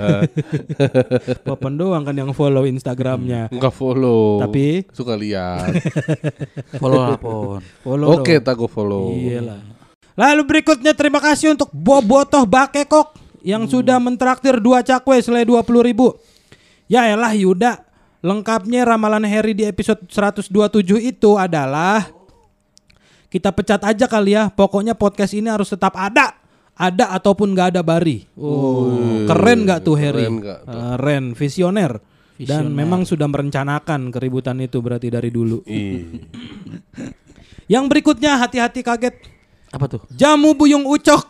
Popon doang kan yang follow Instagramnya. Enggak follow. Tapi suka lihat. Follow lah Pon. follow Oke, dong. tak gue follow. Iyalah. Lalu berikutnya terima kasih untuk Bobotoh Bakekok yang sudah mentraktir dua cakwe senilai dua puluh ribu. Ya elah Yuda, lengkapnya ramalan Harry di episode seratus dua puluh tujuh itu adalah kita pecat aja kali ya. Pokoknya podcast ini harus tetap ada. Ada ataupun gak ada Bari. Oh, keren gak tuh Harry? Keren nggak tuh? Keren, visioner. Dan Visioner. memang sudah merencanakan keributan itu berarti dari dulu. Ih. Yang berikutnya hati-hati kaget. Apa tuh? Jamu buyung ucok.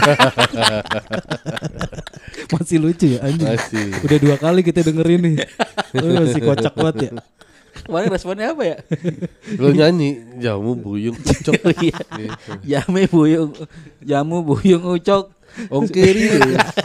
Masih lucu ya anjing. Masih. Udah dua kali kita dengerin nih. Oh, masih kocak banget ya. Kemarin responnya apa ya? Lo nyanyi jamu buyung ucok. Iya. Gitu. Jamu buyung, jamu buyung ucok. Ongkiri.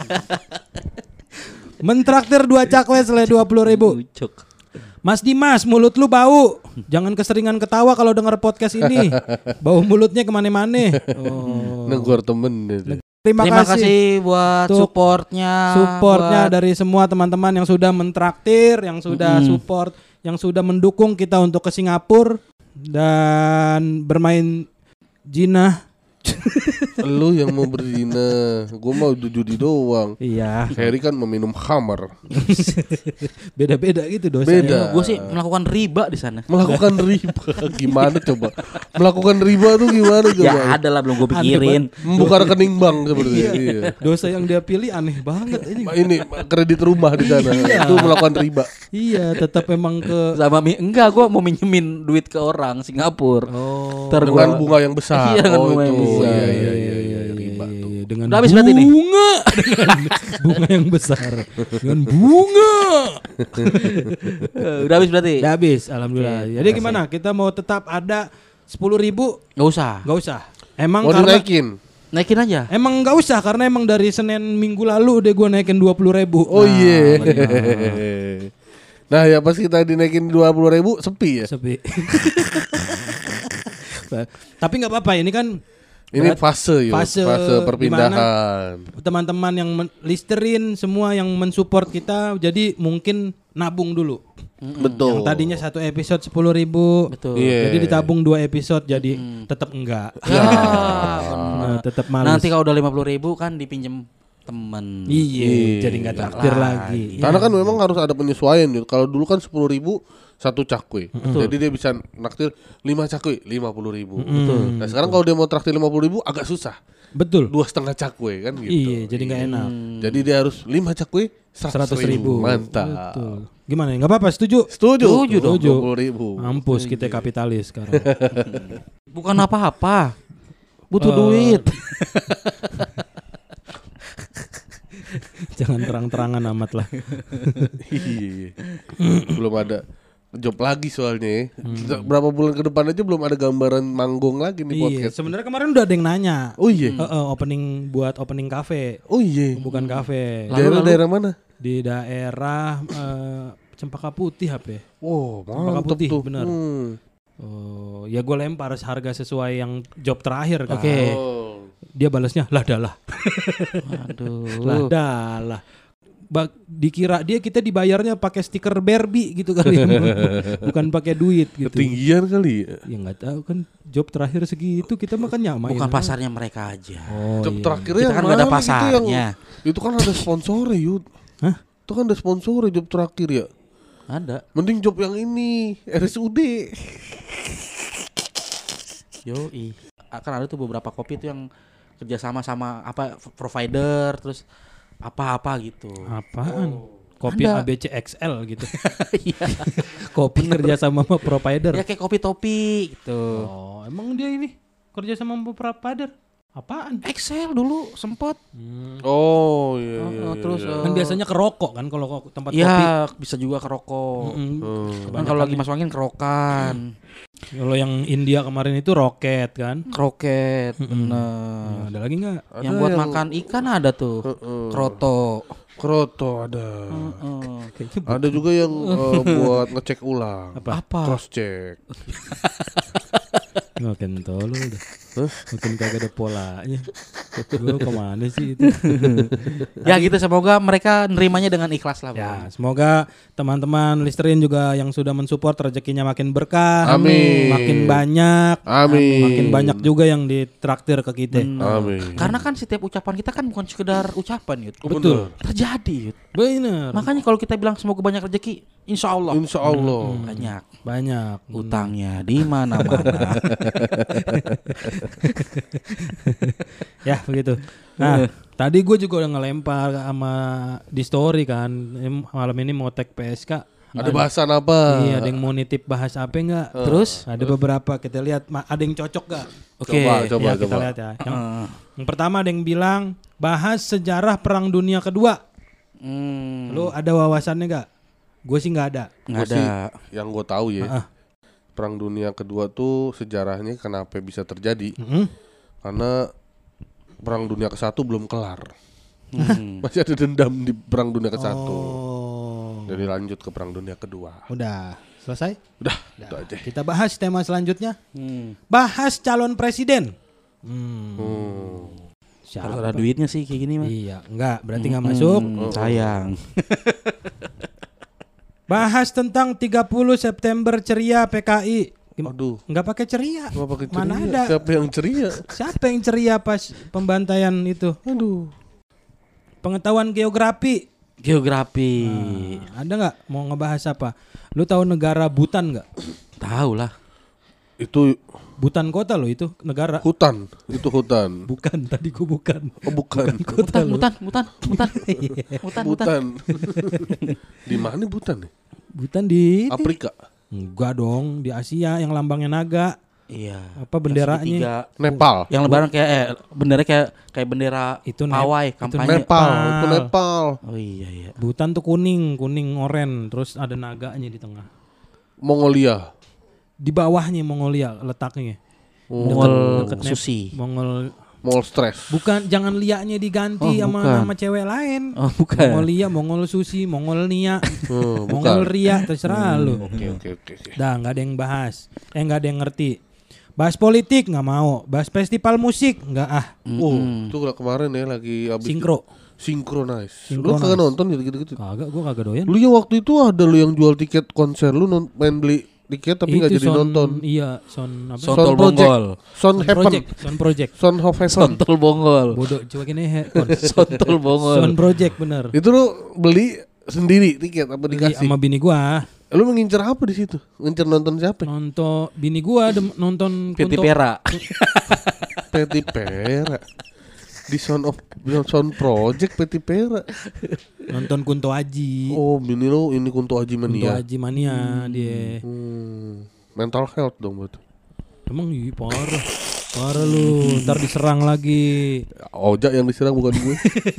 Mentraktir dua cakwe senilai dua puluh ribu. Ucok. Mas Dimas, mulut lu bau. Jangan keseringan ketawa kalau denger podcast ini. Bau mulutnya kemana-mana. Oh. Negor temen itu. Terima, Terima kasih. kasih buat Untuk supportnya. Supportnya buat- dari semua teman-teman yang sudah mentraktir, yang sudah Mm-mm. support, yang sudah mendukung kita untuk ke Singapura dan bermain jinah. Lu yang mau berzina, gue mau judi doang. Iya. Harry kan meminum khamar. Beda-beda gitu dosa. Beda. Gue sih melakukan riba di sana. Melakukan riba gimana coba? Melakukan riba tuh gimana coba? Ya ada lah, belum gue pikirin. Membuka rekening bank seperti itu. Iya. Dosa yang dia pilih aneh banget ini. Ini kredit rumah di sana. Iya. Itu melakukan riba. Iya, tetap emang ke Sama mi- enggak, gue mau minjemin duit ke orang Singapura. Oh. Ntar Dengan gua- bunga yang besar. Iya, dengan oh bunga itu. yang besar. Iya iya iya iya riba tuh. Dengan Udah habis berarti nih? bunga dengan bunga yang besar. Dengan bunga. Eh, Udah habis berarti? Udah habis, alhamdulillah. Oke, Jadi gimana? Kita mau tetap ada sepuluh ribu? Gak usah. Gak usah. Emang Mau karena dinaikin. Naikin aja. emang gak usah karena emang dari Senin minggu lalu udah gue naikin dua puluh ribu. Oh iya. Nah ya pas kita dinaikin dua puluh ribu sepi ya. Sepi. Tapi nggak apa-apa, ini kan Ini berat- fase yuk, fase fase perpindahan. teman-teman yang men- listerin semua yang mensupport kita, jadi mungkin nabung dulu. Betul. Yang tadinya satu episode sepuluh ribu, Betul. Iya. jadi ditabung dua episode, jadi tetap enggak. Ya, Nah, tetap males. nanti kalau udah lima puluh ribu kan dipinjem temen. Iya, jadi nggak traktir lagi. lagi. Karena kan memang harus ada penyesuaian yuk. Kalau dulu kan sepuluh ribu satu cakwe. Jadi dia bisa naktir lima cakwe lima puluh ribu. Nah sekarang kalau dia mau traktir lima puluh ribu agak susah. Betul. Dua setengah cakwe kan gitu. Iya, jadi nggak enak. Jadi dia harus lima cakwe Seratus ribu. Mantap. Betul. Gimana? Nggak apa-apa? Setuju? Setuju. Setuju dong. dua puluh ribu. Mampus kita kapitalis sekarang. Bukan apa-apa. Butuh Eh. duit. Jangan terang-terangan amat lah. Iya. Belum ada job lagi soalnya. ya. Berapa bulan ke depan aja belum ada gambaran manggung lagi nih Iya, podcast. sebenarnya kemarin udah ada yang nanya. Oh iya. Heeh, opening buat opening cafe, Oh iya. bukan cafe. Daerah-daerah mana? Di daerah eh, Cempaka Putih apa ya? Wow, Cempaka mantep Putih, tuh. bener. Hmm. Oh, ya gue lempar harga sesuai yang job terakhir kan. Oke. Oh. Dia balasnya lah dalah. Aduh. Lah dalah. Ba- dikira dia kita dibayarnya pakai stiker Barbie gitu kali. Bukan pakai duit gitu. Ketinggian kali ya. Ya nggak tahu kan job terakhir segitu kita makan nyamain. Bukan pasarnya mereka aja. Oh, Job iya. terakhirnya Kita kan yang nggak ada mana gitu pasarnya. yang- Itu kan ada sponsornya Yud. Hah? Itu kan ada sponsornya job terakhir ya. Ada. Mending job yang ini R S U D. Yoi. Akan ada tuh beberapa kopi tuh yang kerjasama sama apa provider terus apa-apa gitu. Apaan? Kopi Ada. A B C X L gitu. Iya. Kopi kerja sama sama provider. Ya kayak kopi topi gitu. Oh, emang dia ini kerja sama sama provider? Apaan? Excel dulu sempet. Oh iya. Oh, iya, oh, terus iya. eh, Kan biasanya ke rokok kan kalau kok tempat kopi. ya bisa juga kerokok. Mm. Hmm. Kan kalau lagi masuk angin kerokan, Kalau yang India kemarin itu roket kan. kroket, Nah, bener. ada lagi nggak? Ada Yang buat yang- makan ikan ada tuh, Heeh. kroto. Kroto ada. Heeh. Kayaknya bu- Ada juga yang eh, buat ngecek ulang. apa? Apa? Cross check. Makin tolol udah. Makin kagak ada polanya. Gue kemana sih itu? Ya gitu, semoga mereka nerimanya dengan ikhlas lah. Ya, Bang. semoga teman-teman listerin juga yang sudah mensupport rezekinya makin berkah, Amin. makin banyak, Amin. makin banyak juga yang ditraktir ke kita. Amin. Karena kan setiap ucapan kita kan bukan sekedar ucapan, Yud. Betul. Terjadi, Yud. Bener. Makanya kalau kita bilang semoga banyak rezeki, insya Allah Insya Allah. banyak. Banyak. Utangnya di mana-mana. Ya begitu. Nah, tadi gue juga udah ngelempar sama di story kan. Em, Malam ini mau tag P S K. Ada bahasan apa? Iya, ada yang mau nitip bahas apa enggak? Terus ada beberapa kita lihat ma- ada yang cocok gak? Oke. Coba, coba, ya, coba. kita lihat ya. Yang, Heeh. yang pertama ada yang bilang bahas sejarah Perang Dunia Kedua. Hmm, Lu ada wawasannya gak? Gue sih nggak ada. nggak Gua sih, ada. yang gue tahu ya, Heeh. Perang Dunia Kedua tuh sejarahnya kenapa bisa terjadi? Mm-mm. Karena Perang Dunia ke satu belum kelar. Hmm. Masih ada dendam di Perang Dunia ke satu. Oh. Jadi lanjut ke Perang Dunia Kedua. Udah selesai? Udah, itu aja. Kita bahas tema selanjutnya. Hmm. Bahas calon presiden. Hmm. Hmm. Siapa? Harus ada duitnya sih kayak gini mah. Iya, enggak, berarti nggak masuk. Hmm, sayang. Bahas tentang tiga puluh September ceria P K I. Gim- Aduh. Nggak pakai ceria. Gak pakai ceria. Mana ada? Siapa yang ceria? Siapa yang ceria pas pembantaian itu? Aduh. Pengetahuan geografi. Geografi. Nah, ada nggak mau ngebahas apa? Lu tahu negara Bhutan nggak? Tahu lah. Itu Bhutan kota loh itu negara. hutan. Itu hutan. Bukan, tadi gua bukan. Oh bukan. Mutan, mutan, mutan, mutan. Mutan, mutan. Butan. Di mana Butan nih? Bhutan di Afrika. enggak dong, di Asia yang lambangnya naga. Iya. Apa benderanya? Segitiga. Nepal. Yang lebaran kayak eh bendera kayak kayak bendera Itu Nep- pawai itu kampanye. Nepal. Nepal. Itu Nepal. Oh iya iya. Bhutan tuh kuning, kuning oren, terus ada naganya di tengah. Mongolia. Di bawahnya Mongolia letaknya. Mongol Deket Nep- Susi. Mongol. Mall stress. Bukan, jangan liaknya diganti Oh, sama bukan. nama cewek lain. Oh bukan. Mongolia, Mongol Susi, Mongol Nia, Oh, Mongol bukan. Ria, terserah lu. Oke oke oke. oke. Dah nggak ada yang bahas, eh nggak ada yang ngerti. Bahas politik nggak mau, bahas festival musik nggak ah. Oh, itu udah kemarin ya lagi abis Sinkro, Synchronize. Lu Synchronize. kagak nonton gitu-gitu? kagak, gua kagak doyan. Lu ya waktu itu ada lu yang jual tiket konser lu non- main beli tiket tapi nggak jadi Son- nonton. Iya, son apa? Sontol Sound Project. Bonggol. Son Son Heaven. Project, Son Project. Son of Heaven. Sontol Bonggol. Bodoh, coba gini he- kon. Sontol Bonggol. Son Project bener. Itu lu beli sendiri tiket apa Beli dikasih? sama bini gua. Lu mengincar apa di situ? Ngincar nonton siapa? Nonton bini gua dem- nonton Piti Kunto- Pera. Peti Pera. Di Son of Son Project Peti Pera. nonton Kunto Aji. Oh, ini lo ini Kunto Aji Kunto Mania. Aji mania dia. Hmm, mental health dong berarti. Emang iya parah. Parah lu, ntar diserang lagi. Ojak yang diserang bukan gue.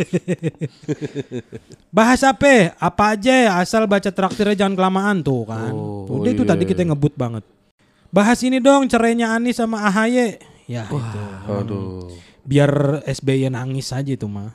Bahas apa? Apa aja asal baca traktirnya jangan kelamaan tuh kan. Oh, Udah itu iya, tadi kita iya. ngebut banget. Bahas ini dong cerainya Anies sama A H Y. Ya itu. Aduh. Biar S B Y nangis aja itu mah.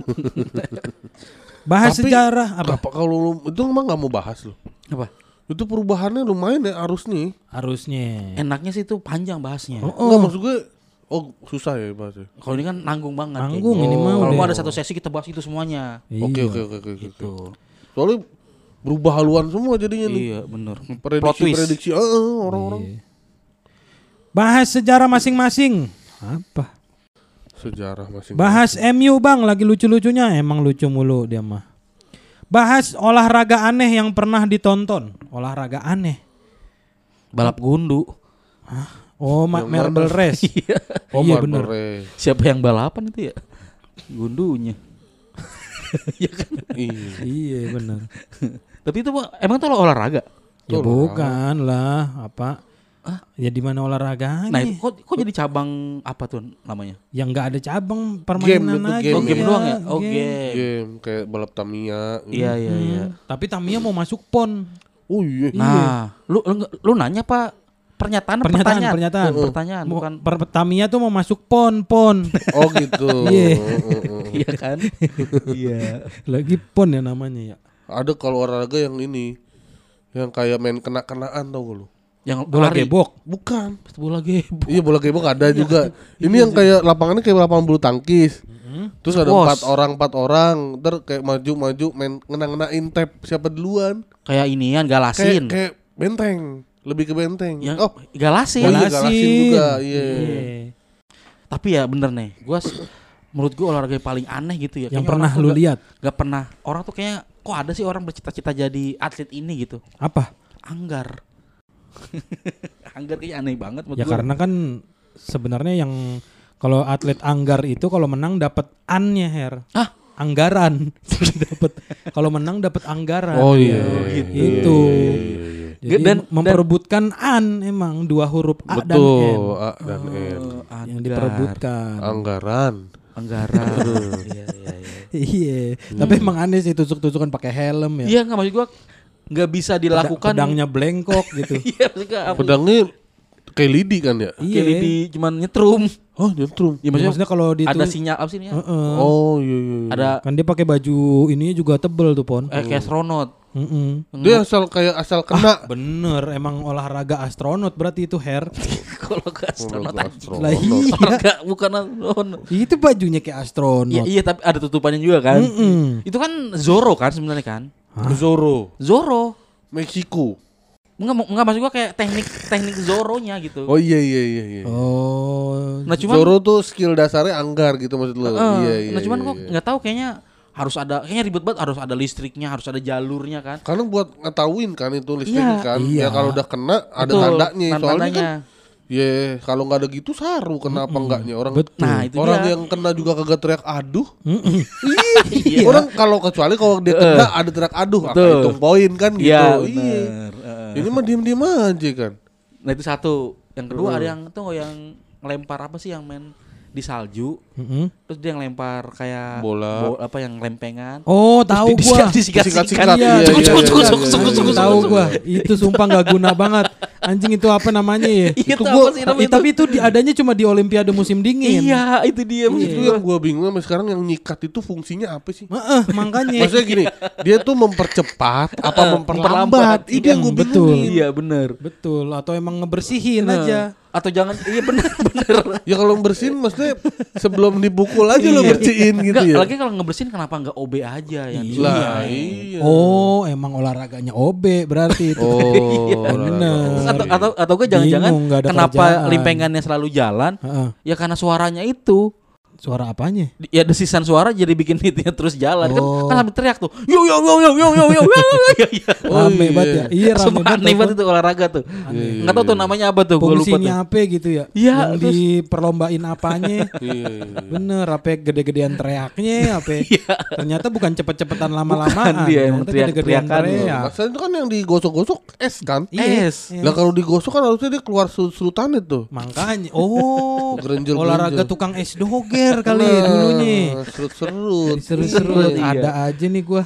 Bahas Tapi, sejarah apa? Apa kalau lu itu emang nggak mau bahas lo? Apa? Itu perubahannya lumayan ya arus nih. Harusnya. Enaknya sih itu panjang bahasnya. Oh, Enggak oh. maksud gue. Oh susah ya bahasnya. Kalau ini kan nanggung banget. Nanggung kayaknya. ini mah Kalau udah. mau ada satu sesi kita bahas itu semuanya. Oke Iya. oke oke oke. oke. Gitu. Soalnya berubah haluan semua jadinya nih. Iya bener. Plot Prediksi twist. prediksi ah, ah, orang-orang. Iya. Bahas sejarah masing-masing. Apa? Sejarah masing. Bahas M U bang, lagi lucu-lucunya. Emang lucu mulu dia mah. Bahas olahraga aneh yang pernah ditonton. Olahraga aneh. Balap gundu. Oh, ma- Yang marble mana? race. Oh, iya Marble bener. Race. Siapa yang balapan itu ya? Gundunya. Iya kan? Iya. Iya bener. Tapi itu Pak, emang itu olahraga. Ya Tuh, bukan lah, apa? Ya di mana olahraganya? Nah itu kok, kok jadi cabang apa tuh namanya? Yang nggak ada cabang permainan itu aja. game Oh game ya. doang ya? Oh game. game. Game kayak balap Tamiya. Iya iya Hmm, iya. Tapi Tamiya mau masuk pon. Oh iya. Nah, lu, lu lu nanya Pak pernyataan Pernyataan, pertanyaan pernyataan. pertanyaan Mau- bukan per- Tamiya tuh mau masuk pon, pon. Oh gitu. Iya. Oh, oh, oh. iya kan? Iya. Lagi pon ya namanya ya. Ada kalau olahraga yang ini, yang kayak main kena-kenaan tau gak lu? Yang Bola lari. gebok. Bukan. Bola gebok. Iya bola gebok ada juga. Ini yang kayak lapangannya kayak lapangan bulu tangkis. Terus ada Pos. empat orang empat orang, ntar kayak maju-maju main ngena-ngenain tap siapa duluan. Kayak inian Kayak galasin. kayak benteng, lebih ke benteng. Yang Oh, galasin. Oh iya, galasin juga, iya. Iya. Tapi ya bener nih, gua s- menurut gua olahraga yang paling aneh gitu ya. Yang Kayaknya pernah orang tuh lu gak- lihat Gak pernah. Orang tuh kayaknya kok ada sih orang bercita-cita jadi atlet ini gitu. apa? Anggar. Anggar kayaknya aneh banget menurut Ya gua. karena kan sebenarnya yang kalau atlet anggar itu kalau menang dapat an-nya Her. Ah? Anggaran. dapat kalau menang dapat anggaran. Oh iya, gitu. Itu. Iya, iya, iya. Jadi Dan- memperebutkan an emang dua huruf A dan N Betul, A dan N. Oh, yang anggar. diperebutkan. Anggaran. Anggaran. Iya iya iya. Iya, tapi emang aneh sih tusuk-tusukan pakai helm ya. Iya nggak maksud gua nggak bisa Peda- dilakukan. pedangnya blengkok gitu. Iya maksudnya apa? Pedangnya kayak lidi kan ya? Iya. Kayak di cuman nyetrum. Oh, nyentrum. Ya, Ya, maksudnya, maksudnya kalau di ada itu- sinyal apa sih ini? ya? Heeh. Oh iya iya. iya. Ada Kan dia pakai baju ininya juga tebel tuh Pon. eh, kayak astronot. Heeh. Dia asal kayak asal kena. Bener, emang olahraga astronot berarti itu Her. Kalau ke astronot Olahraga aja. astronot. Lah iya. Olahraga bukan astronot. Itu bajunya kayak Iya, astronot. iya tapi ada tutupannya juga kan. Mm-mm. Itu kan Zoro kan sebenarnya kan? Zorro, Zoro. Meksiko. Enggak enggak maksud gua kayak teknik teknik Zoro-nya gitu. Oh iya iya iya iya. Oh. Nah cuman Zoro tuh skill dasarnya anggar gitu maksud lo. uh, Iya iya. nah cuman iya, gua iya. nggak tahu kayaknya harus ada kayaknya ribet banget, harus ada listriknya, harus ada jalurnya kan. Karena buat ngetahuin kan itu listrik Iya. kan. Iya. Ya kalau udah kena ada Betul, tandanya. Soalnya tanda-tandanya. kan ya kalau nggak ada gitu saru kenapa enggaknya orang. Betul. Nah, itu orang dia. yang kena juga kagak teriak aduh. Iya. Orang kalau kecuali kalau dia kena ada teriak aduh akan Betul. hitung poin kan gitu. Iya, Iya. benar. Heeh. Ini mah diem-diem aja kan. Nah itu satu. Yang kedua ada yang tuh yang ngelempar apa sih yang main di salju, Mm-mm. terus dia yang lempar kayak Bola. bo- apa yang lempengan. Oh, tahu Di- gua. disikat-sikat. Disikat-sikat, Iya, iya, cukup, iya, cukup, iya, cukup, iya, cukup, iya, cukup, iya, cukup, iya, tahu iya. gua. Itu sumpah nggak guna banget. Anjing itu apa namanya ya? Iya Itu tuh gua- apa sih namanya Eh, tapi itu di, adanya cuma di Olimpiade musim dingin. Iya, itu dia maksud Itu gua. yang gua bingung sampai sekarang yang nyikat itu fungsinya apa sih? Heeh, makanya. Maksudnya gini, dia tuh mempercepat apa Heeh, memperlambat? memperlambat. Itu yang gua Hmm, betul. bingungin. Iya, benar. Betul, atau emang ngebersihin Nah, aja. Atau jangan iya benar benar. Ya kalau bersihin maksudnya sebelum dipukul aja lo bersihin gitu Enggak, ya. lagi kalau ngebersihin kenapa enggak O B aja yang Iya. Lah iya. Oh, emang olahraganya O B berarti itu. Oh, bener. atau atau atau gue jangan-jangan Bingung, nggak ada kenapa kerjaan. limpengannya selalu jalan? Heeh. Ya karena suaranya itu. Suara apanya? Di- Ya desisan suara jadi bikin hitnya terus jalan Oh. kan kan sambil teriak tuh. Yo yo yo yo yo yo yo yo yo yo. Oh, Rame iya. banget ya. Iya, rame Sumpah banget. aneh telepon. banget itu olahraga tuh. Iya, Enggak tahu tuh namanya apa tuh, gue lupa tuh. Fungsinya apa gitu ya? Iya, Yang terus- diperlombain apanya? Iya, iya. Bener, apa gede-gedean teriaknya, apa? Ternyata bukan cepet-cepetan lama-lamaan. Bukan dia yang Ternyata teriak- gede-gedean teriakan. teriak. Masalah itu kan yang digosok-gosok es kan? Iya, Es. iya. Lah kalau digosok kan harusnya dia keluar surut-surutan itu. Makanya, oh, Gerenjel-gerenjel. olahraga tukang es doger kali Nah, dulunya. Serut-serut. Seru-seru, Iya. ada aja nih gua.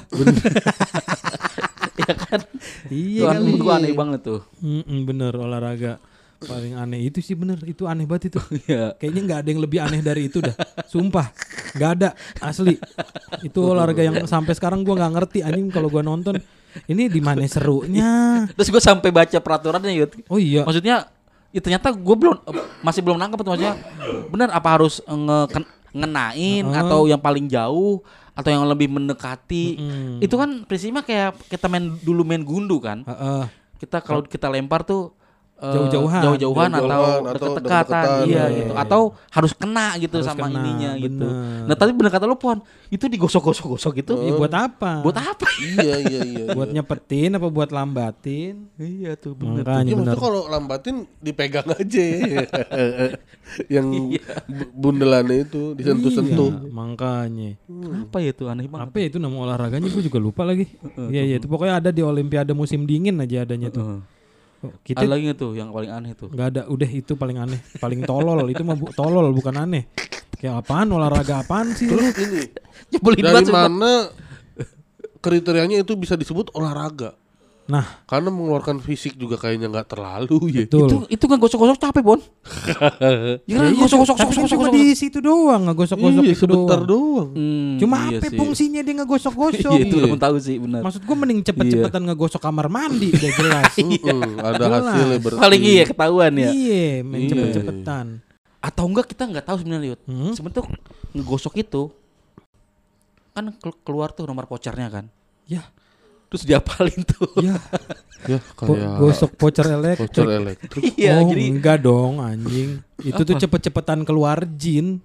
Ya kan. Iya Tuh kali. menurut gua aneh banget tuh. Mm-mm, bener, olahraga paling aneh itu sih bener, itu aneh banget itu. Iya. Kayaknya nggak ada yang lebih aneh dari itu dah. Sumpah, nggak ada, asli. Itu olahraga yang sampai sekarang gua nggak ngerti anjing kalau gua nonton. Ini di mana serunya? Terus gue sampai baca peraturannya Yud. Oh iya. Maksudnya ya ternyata gue belum masih belum nangkep tuh maksudnya. Benar apa harus nge ken- ngenain Heeh. atau yang paling jauh atau yang lebih mendekati. Mm-mm. Itu kan prinsipnya kayak kita main dulu main gundu kan. Heeh. Kita kalau kita lempar tuh eh, Jauh-jauhan. jauh-jauhan atau Jauh-jauhan atau deket-dekatan deket-dekatan. iya Iya, gitu iya. atau harus kena gitu Harus sama kena, ininya gitu. bener. Nah tadi bener kata lu Pon, itu digosok-gosok-gosok gitu. Ya, buat apa? Buat apa? Iya iya iya. Buat nyepetin apa buat lambatin? Iya tuh Makanya Ya bener. maksudnya kalau lambatin dipegang aja. Yang Iya. bu- bundelannya itu disentuh-sentuh. Iya, makanya. Apa ya tuh aneh banget. Apa ya itu nama olahraganya gue juga lupa lagi. Iya iya itu pokoknya ada di Olimpiade musim dingin aja adanya tuh. Heeh. Oh, Ada kita lagi nggak tuh yang paling aneh tuh? nggak ada, udah itu paling aneh, paling tolol itu mah bu- tolol bukan aneh. Kayak apaan olahraga apaan sih lu? Terus ini Nyebelin dari banget sumpah. mana kriterianya itu bisa disebut olahraga? Nah, Karena mengeluarkan fisik juga kayaknya nggak terlalu ya. betul. Itu itu nggak gosok-gosok capek Bon. Ya kan Iya, gosok-gosok tapi kan gosok-gosok. cuma di situ doang ngegosok-gosok Iya, itu sebentar doang. doang. Hmm, Cuma iya apa sih. fungsinya dia ngegosok-gosok? Iya itu Iya. belum tahu sih benar. Maksud gue mending cepet-cepetan ngegosok kamar mandi udah jelas. Mm-mm, ada Jelas. hasilnya bersih. Paling iya ketahuan ya. Iya, main Iya. cepet-cepetan. Atau enggak kita nggak tahu sebenarnya Yud. Hmm? Sebenarnya tuh ngegosok itu kan kel- keluar tuh nomor vouchernya kan. Ya, Terus diapalin tuh. ya. Ya Po- kayak gosok voucher elektrik. voucher elektrik. Iya, oh, jadi enggak dong anjing. Itu tuh Apa? cepet-cepetan keluar jin.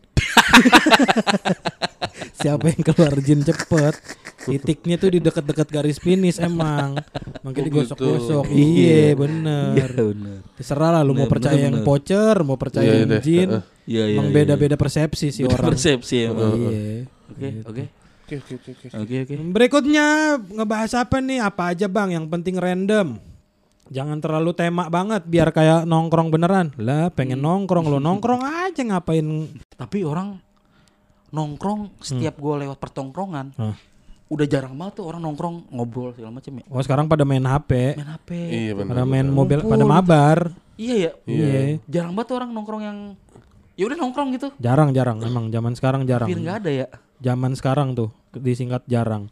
Siapa yang keluar jin cepet? Titiknya tuh di deket-deket garis finish emang. Makanya Oh, digosok-gosok. gitu. Iya, Iya bener. benar. Terserah lah lu mau Bener, percaya bener, yang bener. voucher, mau percaya Iya yang deh, jin. heeh. Iya iya. Emang iya. beda-beda persepsi sih Beda orang. persepsi emang. Iya. Oke, oke. Oke oke oke. oke. Oke, oke. Berikutnya ngebahas apa nih? Apa aja bang? Yang penting random. Jangan terlalu tema banget biar kayak nongkrong beneran. Lah pengen nongkrong lo nongkrong aja ngapain? Tapi orang nongkrong setiap gue lewat pertongkrongan, Hah. udah jarang banget tuh orang nongkrong ngobrol segala macam ya. Oh sekarang pada main H P, Main H P. Iya benar. pada main benar. mobil, Ngumpul. pada mabar. Iya ya. Iya. Jarang banget tuh orang nongkrong yang ya udah nongkrong gitu. Jarang-jarang, emang zaman sekarang jarang. Hampir nggak ada ya. Zaman sekarang tuh disingkat jarang.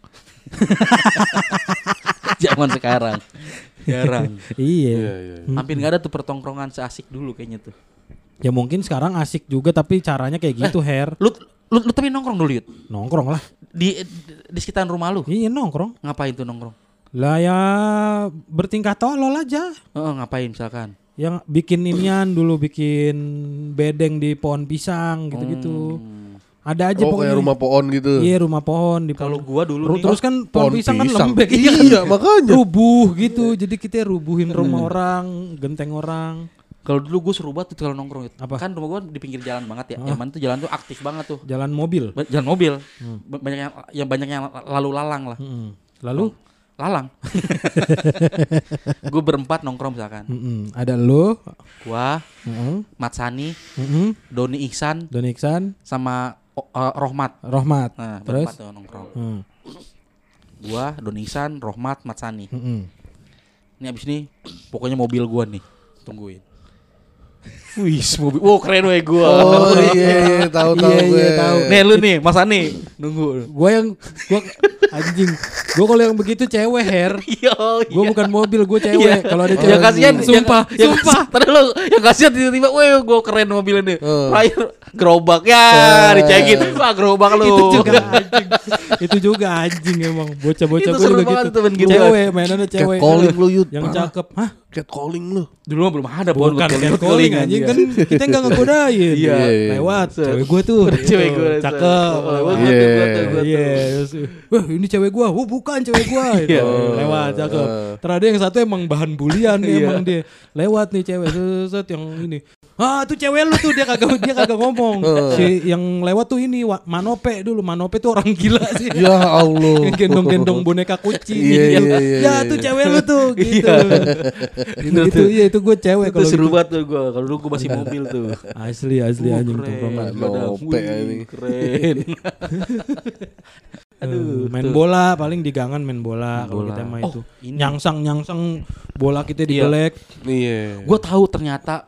Zaman sekarang. Jarang. Iya. Iya iya. Hmm. Hampir nggak ada tuh pertongkrongan seasik dulu kayaknya tuh. Ya mungkin sekarang asik juga tapi caranya kayak gitu, Her. Lu lu, lu tapi nongkrong dulu Yud. Nongkrong lah. Di, di di sekitaran rumah lu. Iya nongkrong. Ngapain tuh nongkrong? Lah ya bertingkah tolol aja. Heeh, ngapain misalkan? Yang bikin inian dulu bikin bedeng di pohon pisang gitu-gitu. Hmm. Ada aja Oh pokoknya. kayak rumah pohon gitu. Iya rumah pohon di Kalau pohon. gua dulu Ru- nih, terus kan pohon, Pohon pisang, kan pisang. lembek. Iya makanya. Rubuh gitu. Jadi kita rubuhin rumah orang, genteng orang. kalau dulu gue seru banget tuh kalau nongkrong itu. Apa? Kan rumah gue di pinggir jalan banget ya. Ah. Yang mana tuh jalan tuh aktif banget tuh. Jalan mobil. Ba- Jalan mobil. Hmm. Ba- Banyak yang yang banyak yang lalu lalang lah. Mm-mm. Lalu Lalang. Gue berempat nongkrong misalkan. mm-mm. Ada lu, Gua, mm-mm. Mat Sani, Mm-mm. Doni Ihsan Don Iksan, sama oh, eh, Rohmat. Rohmat. Nah, Terus? berempat tuh nongkrong. Mm. Gua, Doni Ihsan, Rohmat, Mat Sani. Mm-mm. Ini abis ini pokoknya mobil gua nih. Tungguin. Wih, mobil. Wow, keren weh gua. Oh iya, iya tahu tahu Iya, gue. iya, tahu. Nih lu nih, Mas Ani. Nunggu. Gua yang gua anjing. Gua kalau yang begitu cewek hair. Yo, Gua bukan mobil, gua cewek. Kalau ada cewek. Yang kasihan, sumpah, yang, sumpah. Tadi lu, yang kasihan tiba-tiba, weh, gua keren mobilnya nih. Hmm. Terakhir gerobak ya, dicekin. Wah, gerobak lu. Itu juga anjing. Itu juga anjing emang. Bocah-bocah Itu gua seru juga banget gitu. tuh main gitu. Cewek, mainannya Cat cewek. calling lu Yud. Yang Parah. cakep. Hah? Cat calling lu. Dulu mah belum ada Bukan Bon, cat calling anjing kan kita enggak ngegodain. Iya. Lewat Set. cewek gua tuh. Udah cewek gitu. gua. Cakep. Oh, Lewat. gua tuh, gua tuh, gua tuh. Iya. terus, Wah, ini cewek gua. Oh, bukan cewek gua. Gitu. Iya. Lewat cakep. Uh. Terus ada yang satu emang bahan bulian nih Iya. emang dia. Lewat nih cewek set, set yang ini. Ah, tuh cewek lu tuh dia kagak dia kagak ngomong. Si yang lewat tuh ini Wa- Manope dulu. Manope tuh orang gila sih. Ya Allah. Yang gendong-gendong boneka kucing. Iya, iya, iya, Ya iya. tuh cewek lu tuh gitu. Itu itu iya itu gue cewek Itu kalau seru gitu. banget tuh gua. Kalau dulu gua masih mobil tuh. Asli asli Wah, anjing keren. tongkrongan. Nope, Wih, ini. keren. Eh, Aduh, main tuh. bola paling di gangan main bola Main kalau bola. kita mah Oh, itu. ini. Nyangsang nyangsang bola kita di Iya. belek. Iya. Gue tahu ternyata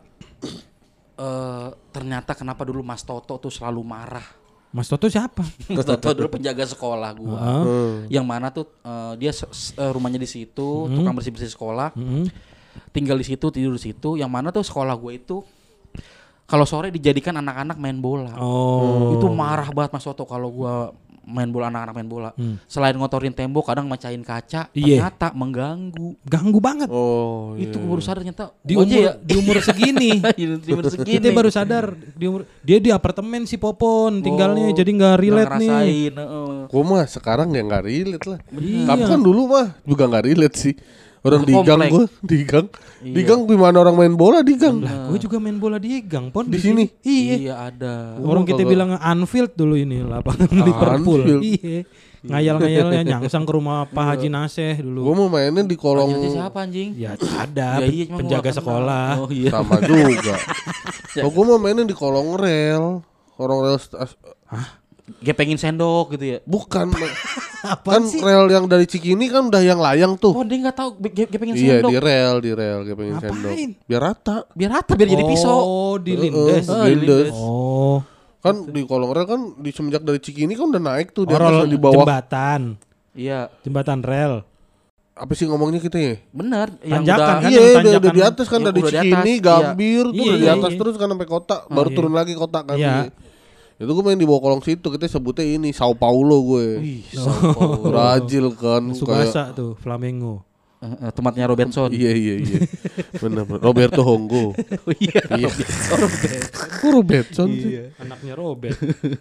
eh ternyata kenapa dulu Mas Toto tuh selalu marah. Mas Toto siapa? Mas Toto dulu penjaga sekolah gua. Heeh. Hmm. Yang mana tuh eh, dia se- se- eh, rumahnya di situ, tukang bersih-bersih sekolah. Mm-mm. Tinggal di situ, tidur di situ. Yang mana tuh sekolah gue itu kalau sore dijadikan anak-anak main bola. Oh. Itu marah banget Mas Toto kalau gua main bola, anak-anak main bola. Hmm. Selain ngotorin tembok, kadang mecahin kaca, Iya. ternyata mengganggu. Ganggu banget. Oh iya. Itu gue baru sadar ternyata Di gua aja umur ya. di umur segini. di umur segini. Kita baru sadar di umur dia di apartemen si Popon tinggalnya Oh, jadi nggak relate nggak nih. ngerasain, heeh. Gua mah sekarang ya nggak relate lah. Iya. Tapi kan dulu mah juga nggak relate sih. Orang Ke di gang komplek. gua, di gang. Di Iya. gang gimana orang main bola di gang? Lah, gue juga main bola di gang, Pon. Di sini? Iya. Iya ada. Orang Oh, kita kagak. bilang Anfield dulu ini lapangan Liverpool. Anfield. Iya. Ngayal-ngayalnya nyangsang ke rumah Pak Haji Naseh Gua dulu. mau mainnya di kolong Anjir, siapa anjing? Ya ada Ya, iya, cuma penjaga gua nggak sekolah. kenal. Oh iya. sama juga. Kalau gua mau mainnya di kolong rel. Kolong rel stas- Gepengin sendok gitu ya. bukan Apa kan sih? rel yang dari Cikini kan udah yang layang tuh. Oh dia nggak tahu ge- ge- gepengin Iya sendok. di rel, di rel kayak pengen Ngapain? sendok. Biar rata. Biar rata, biar jadi pisau. Oh, di lindes. Heeh, Oh, di lindes. lindes. Oh, Kan di kolong rel kan di semenjak dari Cikini kan udah naik tuh di oh atas rel dan di bawah. jembatan. Iya, Jembatan rel. Apa sih ngomongnya kita ya? bener. Yang Tanjakan udah kan? Iya, yang udah, udah tanjakan. di atas kan Yang dari udah di Cikini, atas, iya. Gambir tuh Iya, udah di iya, atas iya. terus kan sampai kota, Oh, baru iya. turun lagi kota kan. Iya. Itu gue main di bawah kolong situ, kita sebutnya ini Sao Paulo gue. Wih, Sao Brazil kan kayak Subasa tuh, Flamengo. Eh, eh, tempatnya Robertson. iya iya iya. Benar benar. Roberto Honggo. Oh iya. Iya. Kok Robertson sih? Anaknya Robert.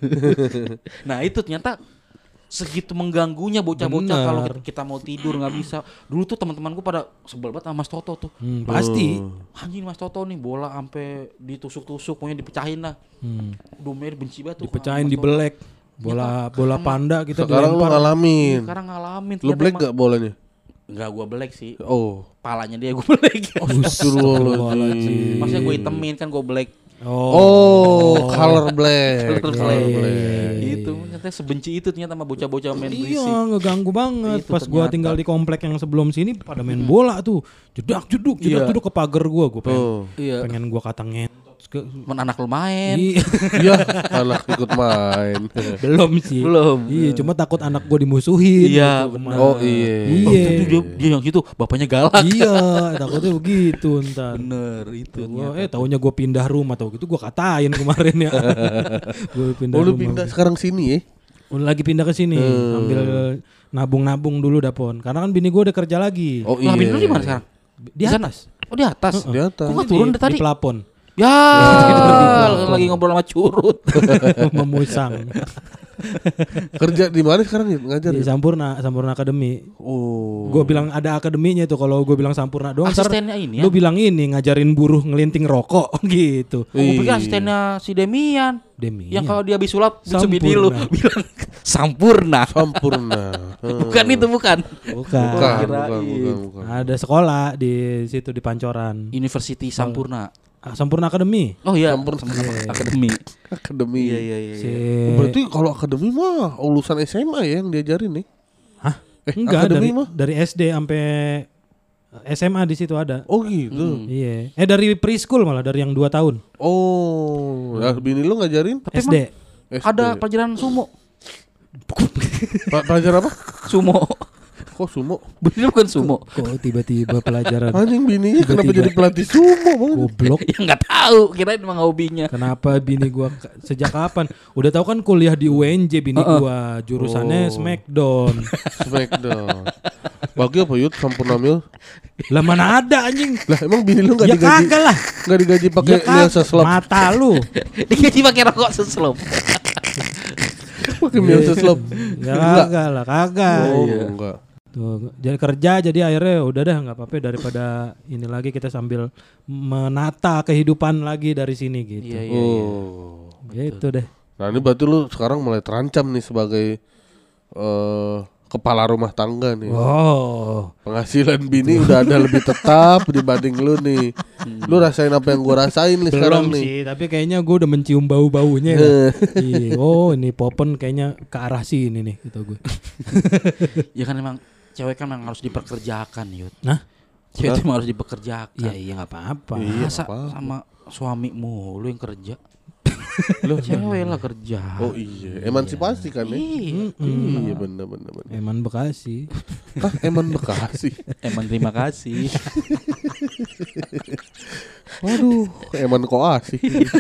Nah itu ternyata segitu mengganggunya bocah-bocah Bener. kalau kita, kita mau tidur nggak bisa. Dulu tuh teman-temanku pada sebel banget sama Mas Toto tuh. Hmm, pasti. Anjing Mas Toto nih bola sampai ditusuk-tusuk, pokoknya dipecahin lah. Hmm. Domer benci banget tuh. Dipecahin, sama Mas Toto. dibelek. Bola bola panda kita Sekarang lu dilempar. ngalamin. Sekarang ngalamin. Lu ternyata black emang- gak bolanya? Enggak gua black sih. Oh. Palanya dia gua black. Astagfirullahaladzim. Maksudnya gue itemin kan gue black. Oh, color black. Color Color black. black. Itu ternyata sebenci itu ternyata sama bocah-bocah main Iya, berisik. ngeganggu banget. Itu Pas gua ternyata. tinggal di komplek yang sebelum sini pada main bola tuh. Jedak jeduk, jedak Iya. jeduk ke pagar gua. Gua pengen, Oh. Iya. pengen gua kata ngentot ke Men anak lu main. Iya. Iya, anak ikut main. Belum sih. Belum. Iya, cuma takut anak gua dimusuhin. Iya, gitu. benar. Oh iya. Oh, Iya. itu dia, dia yang gitu, bapaknya galak. Iya, takutnya begitu ntar. Bener itu. Gua, ternyata. eh taunya gua pindah rumah tau gitu gua katain kemarin ya. Gua pindah Oh lu rumah. pindah sekarang sini ya? Udah lagi pindah ke sini sambil nabung-nabung dulu Dapon. Karena kan bini gue udah kerja lagi. Oh Lah bini iya. lu di mana sekarang? Di atas. Oh di atas. Di atas. Kok nggak turun dari tadi? Di pelapon. Ya, lagi ngobrol sama curut. Memusang. Kerja di mana sekarang ya? Ngajar. Di ya? Sampurna, Sampurna Academy. Oh. Gue bilang ada akademinya tuh. Kalau gue bilang Sampurna doang, ntar Asistennya ini ya. lu bilang ini ngajarin buruh ngelinting rokok gitu. Oh, gue pikir asistennya si Demian. Demi. Yang kalau dia habis sulap bisa bini Sampurna. lu bilang sampurna. Sampurna. Bukan itu bukan. Bukan. Bukan, Kirain. bukan, bukan, bukan. Ada sekolah di situ di Pancoran. University Sampurna. Ah, Sampurna Academy. Oh iya, Sampurna. Sampurna Akademi. Akademi. Iya iya iya. Si Oh, berarti kalau akademi mah lulusan S M A ya yang diajarin nih. Hah? Eh, Enggak, akademi dari mah? dari S D sampai S M A di situ ada. Oh gitu. Iya. Eh dari preschool malah dari yang dua tahun. Oh, ya bini lu ngajarin? Tapi S D. emang ada pelajaran sumo. Pa- pelajaran apa? Sumo. Kok sumo? Bener bukan sumo. Kok tiba-tiba pelajaran Anjing bininya kenapa Tiba-tiba. jadi pelatih sumo bang? goblok. Ya nggak tahu, kirain emang hobinya. Kenapa bini gua ke- sejak kapan? Udah tahu kan kuliah di U N J bini Uh-uh. gua, jurusannya Oh. Smackdown. Smackdown. Bagi apa Yud? Sampurna Mil? Lah mana ada anjing? Lah emang bini lu nggak Ya digaji? kagak lah. Nggak digaji pakai Ya meal kagak. seslop? Mata lu. Digaji pakai rokok seslop. Pakai meal seslop? Ya kagak lah, kagak. Oh iya. enggak. Tuh, jadi kerja jadi akhirnya udah dah nggak apa-apa daripada ini lagi kita sambil menata kehidupan lagi dari sini gitu. Iya iya iya. Oh. Gitu deh. Nah ini berarti lu sekarang mulai terancam nih sebagai eh kepala rumah tangga nih. Oh. Penghasilan bini udah ada lebih tetap dibanding lu nih. Lu rasain apa yang gua rasain nih sekarang Belum nih. sih, tapi kayaknya gue udah mencium bau-baunya. Iya, oh ini Popon kayaknya ke arah sini nih gitu gue. Ya kan emang cewek kan memang harus diperkerjakan, Yud. Nah, Cewek itu emang harus dipekerjakan. iya iya nggak apa-apa. Iya, Masa apa-apa. sama suamimu lu yang kerja? Lu cewek lah kerja. Oh iya, emansipasi kan ya? Iya. Iya benar benar benar. Eman Bekasi. Hah, eman Bekasi. Emang terima kasih. Waduh, eman koasi.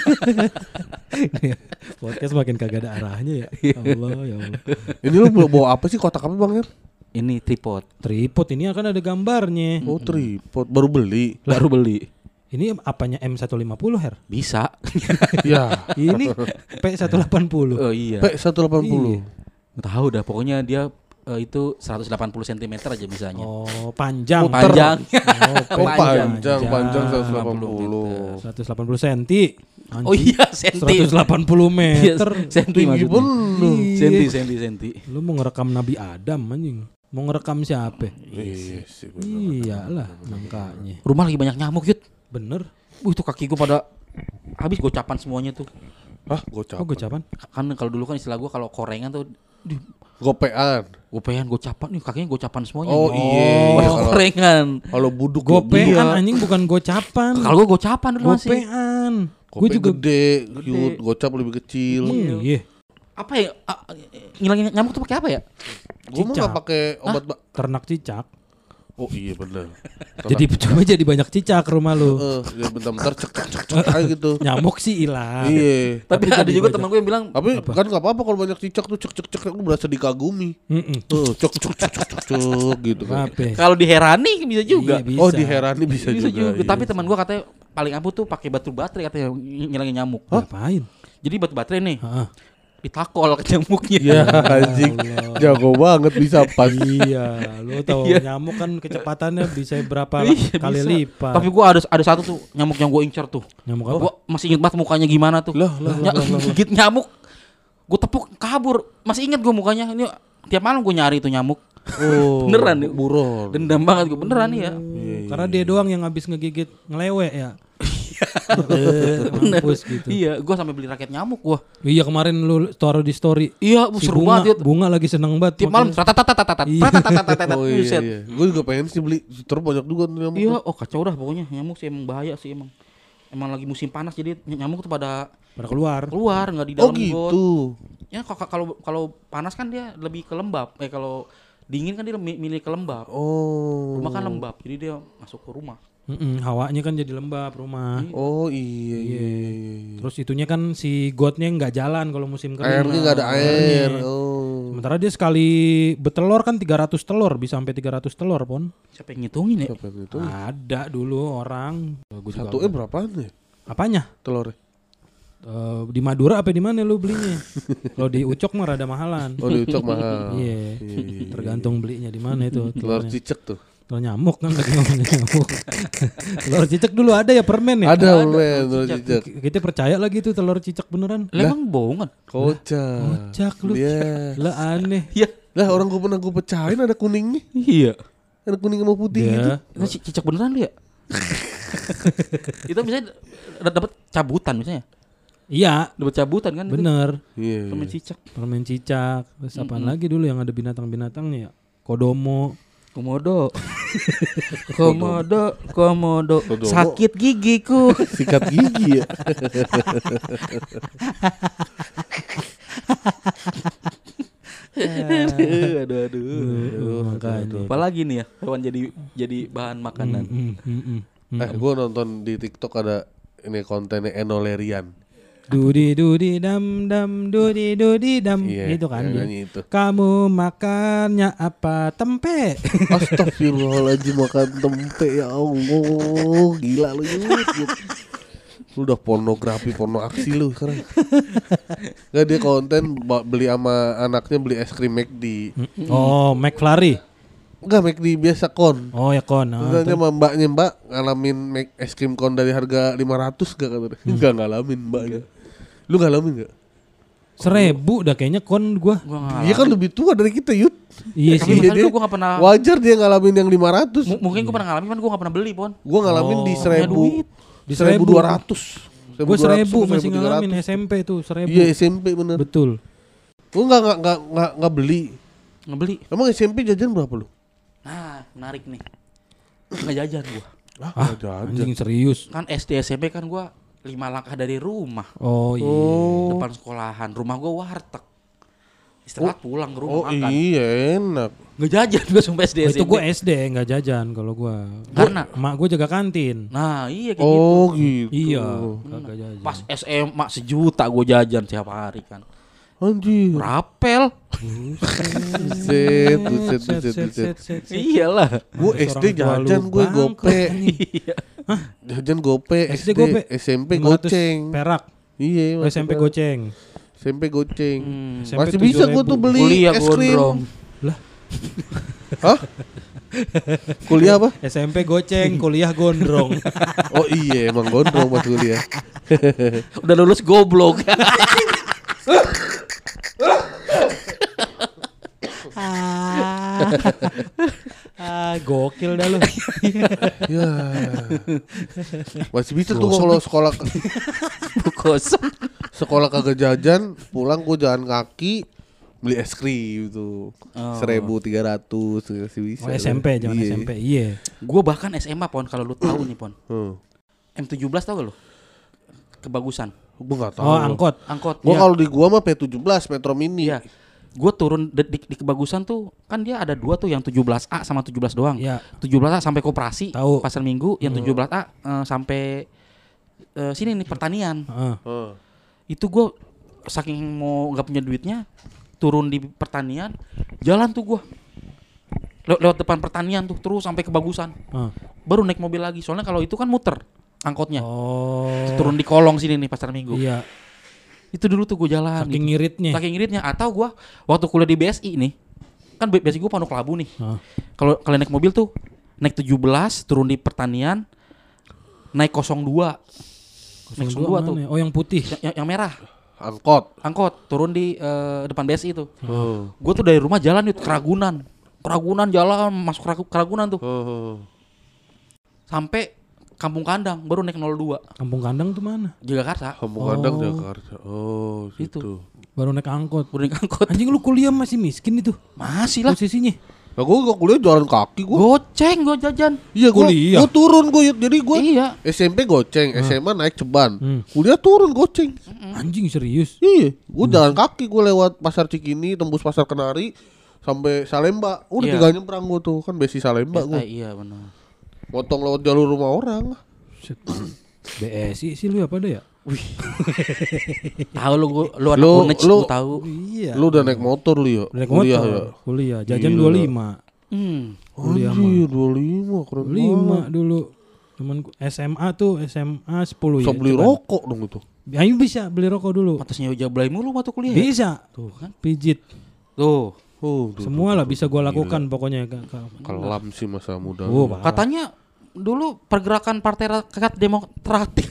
Podcast makin kagak ada arahnya ya. Ya Allah, ya Allah. Ini lu bawa- bawa apa sih kotak apa Bang Her? Ini tripod. Tripod ini akan ada gambarnya. Oh tripod, baru beli. Baru beli. Ini apanya M seratus lima puluh Her? Bisa. Ya, Ini P seratus delapan puluh. Oh iya. P seratus delapan puluh. Nggak tahu dah, pokoknya dia eh, itu seratus delapan puluh sentimeter aja misalnya. Oh, panjang. Panjang. Oh Panjang. panjang, panjang seratus delapan delapan puluh. puluh seratus delapan puluh senti. Anjing. Oh iya, senti. seratus delapan puluh meter. Iya, senti Tinggi maksudnya. bener. Senti, senti, senti. Lu mau ngerekam Nabi Adam anjing. Mau ngerekam siapa? Iya sih. bener. Iyalah, makanya. Rumah lagi banyak nyamuk, Yud. Bener. Uh, itu kaki gue pada habis gocapan semuanya tuh. Hah, gocap. Oh, gocapan? Kan kalau dulu kan istilah gue kalau korengan tuh di Gopean. gopean gocapan nih kakinya gocapan semuanya. Oh nih. iya. Pada Kalau- korengan. Kalau buduk ya Gopean iya. anjing bukan gocapan. Kalau gue gocapan dulu masih. Gopean. Gope Gue juga gede, cute, gocap lebih kecil. Hmm, iya. Apa ya? ah, ngilangin nyamuk tuh pakai apa ya? Gua mah Cicak. nggak pakai obat. Ba- Ternak cicak. oh iya benar. Jadi cuma jadi banyak cicak rumah lu. Eh, ya bentar-bentar cek cek cek cek aja gitu. Nyamuk sih hilang. Iya. Tapi ada juga teman gue yang bilang Tapi kan nggak apa-apa kalau banyak cicak tuh cek cek cek aku berasa dikagumi. Mm-mm. Tuh cek cek cek cek cek cek gitu kan. Apa? kalau diherani bisa juga. Iya, bisa. Oh diherani bisa, Bisa juga. juga. Tapi iya. teman gue katanya paling ampuh tuh pakai batu baterai katanya ngilangin nyamuk. Ngapain? Jadi batu baterai nih Heeh. ditakol ke nyamuknya. Ya anjing, jago banget bisa pas. Iya, lu tahu Iya. nyamuk kan kecepatannya bisa berapa Iya, kali bisa. lipat. Tapi gua ada ada satu tuh nyamuk yang gue incer tuh. Nyamuk apa? Gua masih inget banget mukanya gimana tuh. Lah, lah, Ny- gigit nyamuk. Gue tepuk kabur. Masih inget gue mukanya. Ini tiap malam gue nyari itu nyamuk. Oh, Beneran nih. buron. Dendam banget gue beneran nih ya. Karena dia doang yang habis ngegigit ngelewe ya. Bener. Mampus gitu. Iya, gue sampai beli raket nyamuk gua. Iya kemarin lu taruh di story. Iya, Si seru bunga, banget. Yud. bunga lagi seneng banget. Tiap malam makanya- tatatatatatatatat, Iya. tatatatatatatatat, Oh iya, buset. iya. Gue juga pengen sih beli. Terus banyak juga tuh nyamuk. Iya, oh kacau dah pokoknya nyamuk sih emang bahaya sih emang. Emang lagi musim panas jadi nyamuk tuh pada pada keluar. keluar nggak di Oh dalam got. gitu. Ya kalau kalau kalau panas kan dia lebih ke lembab. Eh kalau dingin kan dia mi- milih ke lembab. Oh. Rumah kan lembab, jadi dia masuk ke rumah. Mm-mm, hawanya kan jadi lembab rumah. Oh iya iya. iya. Terus itunya kan si gotnya nggak jalan kalau musim kering. Airnya nggak ada air. Oh Sementara dia sekali betelor kan tiga ratus telur, bisa sampai tiga ratus telur, Pon. Siapa yang ngitungin ya? Siapa yang itu? Ada dulu orang. Gua juga Satunya berapaan ya apanya? telurnya? Eh, di Madura apa di mana lu belinya? Kalau di Ucok mah rada mahalan. Oh di Ucok mahal. Iya. Iya. Tergantung belinya di mana itu. Telur telurnya. cicak tuh. Telur nyamuk kan lagi ngomongin nyamuk. Telur cicak dulu ada ya permen ya? Ada men telur cicak. Kita percaya lagi tuh telur cicak beneran. Lah emang bohongan. Kocak. Kocak lu. Iya. Lah aneh. Iya. Lah orang gue pernah gue pecahin ada kuningnya. Iya. Ada kuning sama putih gitu. Dia Itu ci- cicak beneran lu ya? Itu bisa dapat cabutan misalnya. iya, Dapat cabutan kan itu. bener. Iya. Permen cicak. Permen cicak. Terus apaan lagi dulu yang ada binatang-binatangnya ya? Kodomo. Komodo. Komodo, komodo. Kodomo. Sakit gigiku. Sikat gigi ya. aduh, aduh, aduh. Uh, makanya. Apalagi nih ya hewan jadi jadi bahan makanan. Mm, mm, mm. Eh gue nonton di TikTok ada ini kontennya Enolerian. Dudi dudi dam dam dudi dudi dam Iya, itu kan yang dia. nyanyi itu. Kamu makannya apa? Tempe. Astagfirullahaladzim makan tempe ya Allah. Gila lu Yud, Yud. Lu udah pornografi, porno aksi lu sekarang. Gak dia konten ba- beli sama anaknya beli es krim McD. Oh, McFlurry. Enggak McD biasa kon. Oh ya kon. Ah, Terus sama mbaknya mbak ngalamin make es krim kon dari harga lima ratus gak katanya. Enggak ngalamin mbaknya. Lu ngalamin gak? seribu dah kayaknya kon gua. Gua ngalamin. Dia kan lebih tua dari kita Yud. Iya Tapi sih. beneran dia- tuh gua gak pernah. Wajar dia ngalamin yang lima ratus. M- mungkin gua pernah ngalamin kan gua gak pernah beli pon. Gua ngalamin di Oh, seribu. duit. Di seribu dua ratus. Gue seribu masih ngalamin S M P tuh seribu. Iya S M P bener. Betul. Gua nggak nggak nggak nggak nggak beli. Ngebeli. Emang S M P jajan berapa lu? Nah, menarik nih. Nggak jajan gua. Ah, anjing serius. Kan S D S M P kan gua lima langkah dari rumah. Oh iya. Oh. Depan sekolahan. Rumah gua warteg. Istirahat pulang ke rumah Oh makan. iya enak. Nggak jajan gua sampai S D Oh, S M P. itu gue S D nggak jajan kalau gue. Karena- emak gue jaga kantin. Nah, iya kayak gitu. Oh gitu. Iya. Kagak jajan. Pas S M A sejuta gua jajan tiap hari kan. Anjir. Rapel. Buset, buset, buset, buset. Iyalah. Gue Terus S D orang tua lu jajan gue bangkrut, gope. anjing. Iya. Jajan gope. S S D D gope. S M P lima ratus goceng. perak. Iya. Oh, S M P goceng. S M P goceng. Hmm. S M P Masih bisa gue tuh beli Kuliah es krim. gondrong. Lah, Hah? Kuliah apa? S M P goceng, kuliah gondrong. Oh iya emang gondrong pas kuliah. Udah lulus goblok. ah, ah, gokil dah lu. Ya. Masih bisa tuh gua kalau sekolah Kosong. sekolah kagak jajan, pulang gua jalan kaki beli es krim tuh. Oh. Seribu tiga ratus masih bisa. Oh, S M P zaman Iya. S M P. Iya. Gua bahkan S M A pon kalau lu tahu nih pon. Hmm. M tujuh belas tau gak lu? Kebagusan. Gua enggak tahu. Oh, angkot. Angkot. Gua Iya. kalau di gua mah P tujuh belas Metro Mini. Iya. Gue turun di, di, di kebagusan tuh kan dia ada dua tuh yang tujuh belas A sama tujuh belas doang. Iya. tujuh belas A sampai koperasi, Tahu. pasar Minggu, yang tujuh belas A eh, sampai eh, sini nih pertanian. Heeh. Heeh. Itu gue saking mau nggak punya duitnya turun di pertanian, jalan tuh gue Lew- lewat depan pertanian tuh terus sampai kebagusan. Heeh. Baru naik mobil lagi. Soalnya kalau itu kan muter angkotnya. Oh. Turun di kolong sini nih pasar Minggu. Iya. Itu dulu tuh gue jalan. Saking gitu. ngiritnya. Saking ngiritnya. Atau gue waktu kuliah di B S I nih, kan B S I gue Pondok Labu nih. Heeh. Kalau kalian naik mobil tuh naik tujuh belas turun di pertanian, naik nol dua. Naik nol dua tuh. mana? Oh, yang putih. Yang, yang, yang merah. Angkot. Angkot turun di eh, depan B S I tuh. Heeh. Gue tuh dari rumah jalan yuk ke Ragunan. Keragunan jalan masuk Keragu- Keragunan tuh. Heeh. Sampai Kampung Kandang baru naik nol dua. Kampung Kandang tuh mana? Jakarta. Kampung Oh. Kandang Jakarta. Oh, Itu. gitu. Baru naik angkot. Baru naik angkot. Anjing lu kuliah masih miskin itu. Masih lah. Posisinya. Nah, gua gua kuliah jalan kaki gua. Goceng gue jajan. Iya, gua, Kuliah. gua turun gua jadi gua Iya. S M P goceng, S M A naik ceban. Hmm. Kuliah turun goceng. Anjing serius. Iya, gua jalan kaki gua lewat Pasar Cikini, tembus Pasar Kenari sampai Salemba. Udah Iya. tinggal nyebrang gua tuh, kan besi Salemba gua. Eh, iya benar. Potong lewat jalur rumah orang. Set. B S I sih lu apa ada ya? Wih. Tahu lu gua, lu anak Lu- Unec, lu- gua tahu. Iya. Lu udah naik motor lu ya? Naik Kuliah motor, ya? kuliah, jajan Gila. dua puluh lima. Hmm. Kuliah mah. Anjir, dua puluh lima keren dua puluh lima banget. dulu. Temen S M A tuh S M A sepuluh Bisa ya. beli coba. rokok dong itu. Ayo bisa beli rokok dulu. Pantasnya jablay mulu waktu kuliah. Bisa. Tuh kan. Pijit. Tuh. Oh, tuh, Semua tuh, lah tuh, bisa tuh. gua Gila. lakukan pokoknya. Kak, Kak. Kelam sih masa muda. Oh, lu. parah. Katanya dulu pergerakan Partai Rakyat Demokratik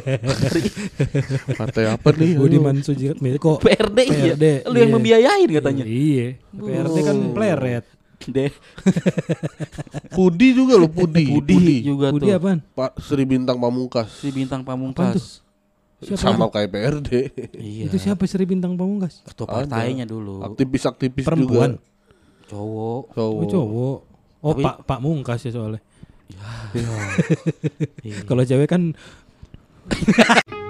Partai apa nih? Budiman Sujatmiko. P R D, P R D, iya. Lu yang iya. membiayain katanya. Iya. P R D kan pleret. Deh. Pudi juga lo, Pudi. Pudi juga Budi tuh. apaan? Pak Sri Bintang Pamungkas. Si Bintang Apaan tuh? Pamungkas. Siapa? Sama kayak P R D. Iya. Itu siapa Sri Bintang Pamungkas? Ketua Ada. partainya dulu. Aktivis-aktivis Perempuan. juga. Cowok. Cowok. Oh, cowok. Oh, Tapi- Pak Pak Mungkas ya soalnya. Iya. Kalau cewek kan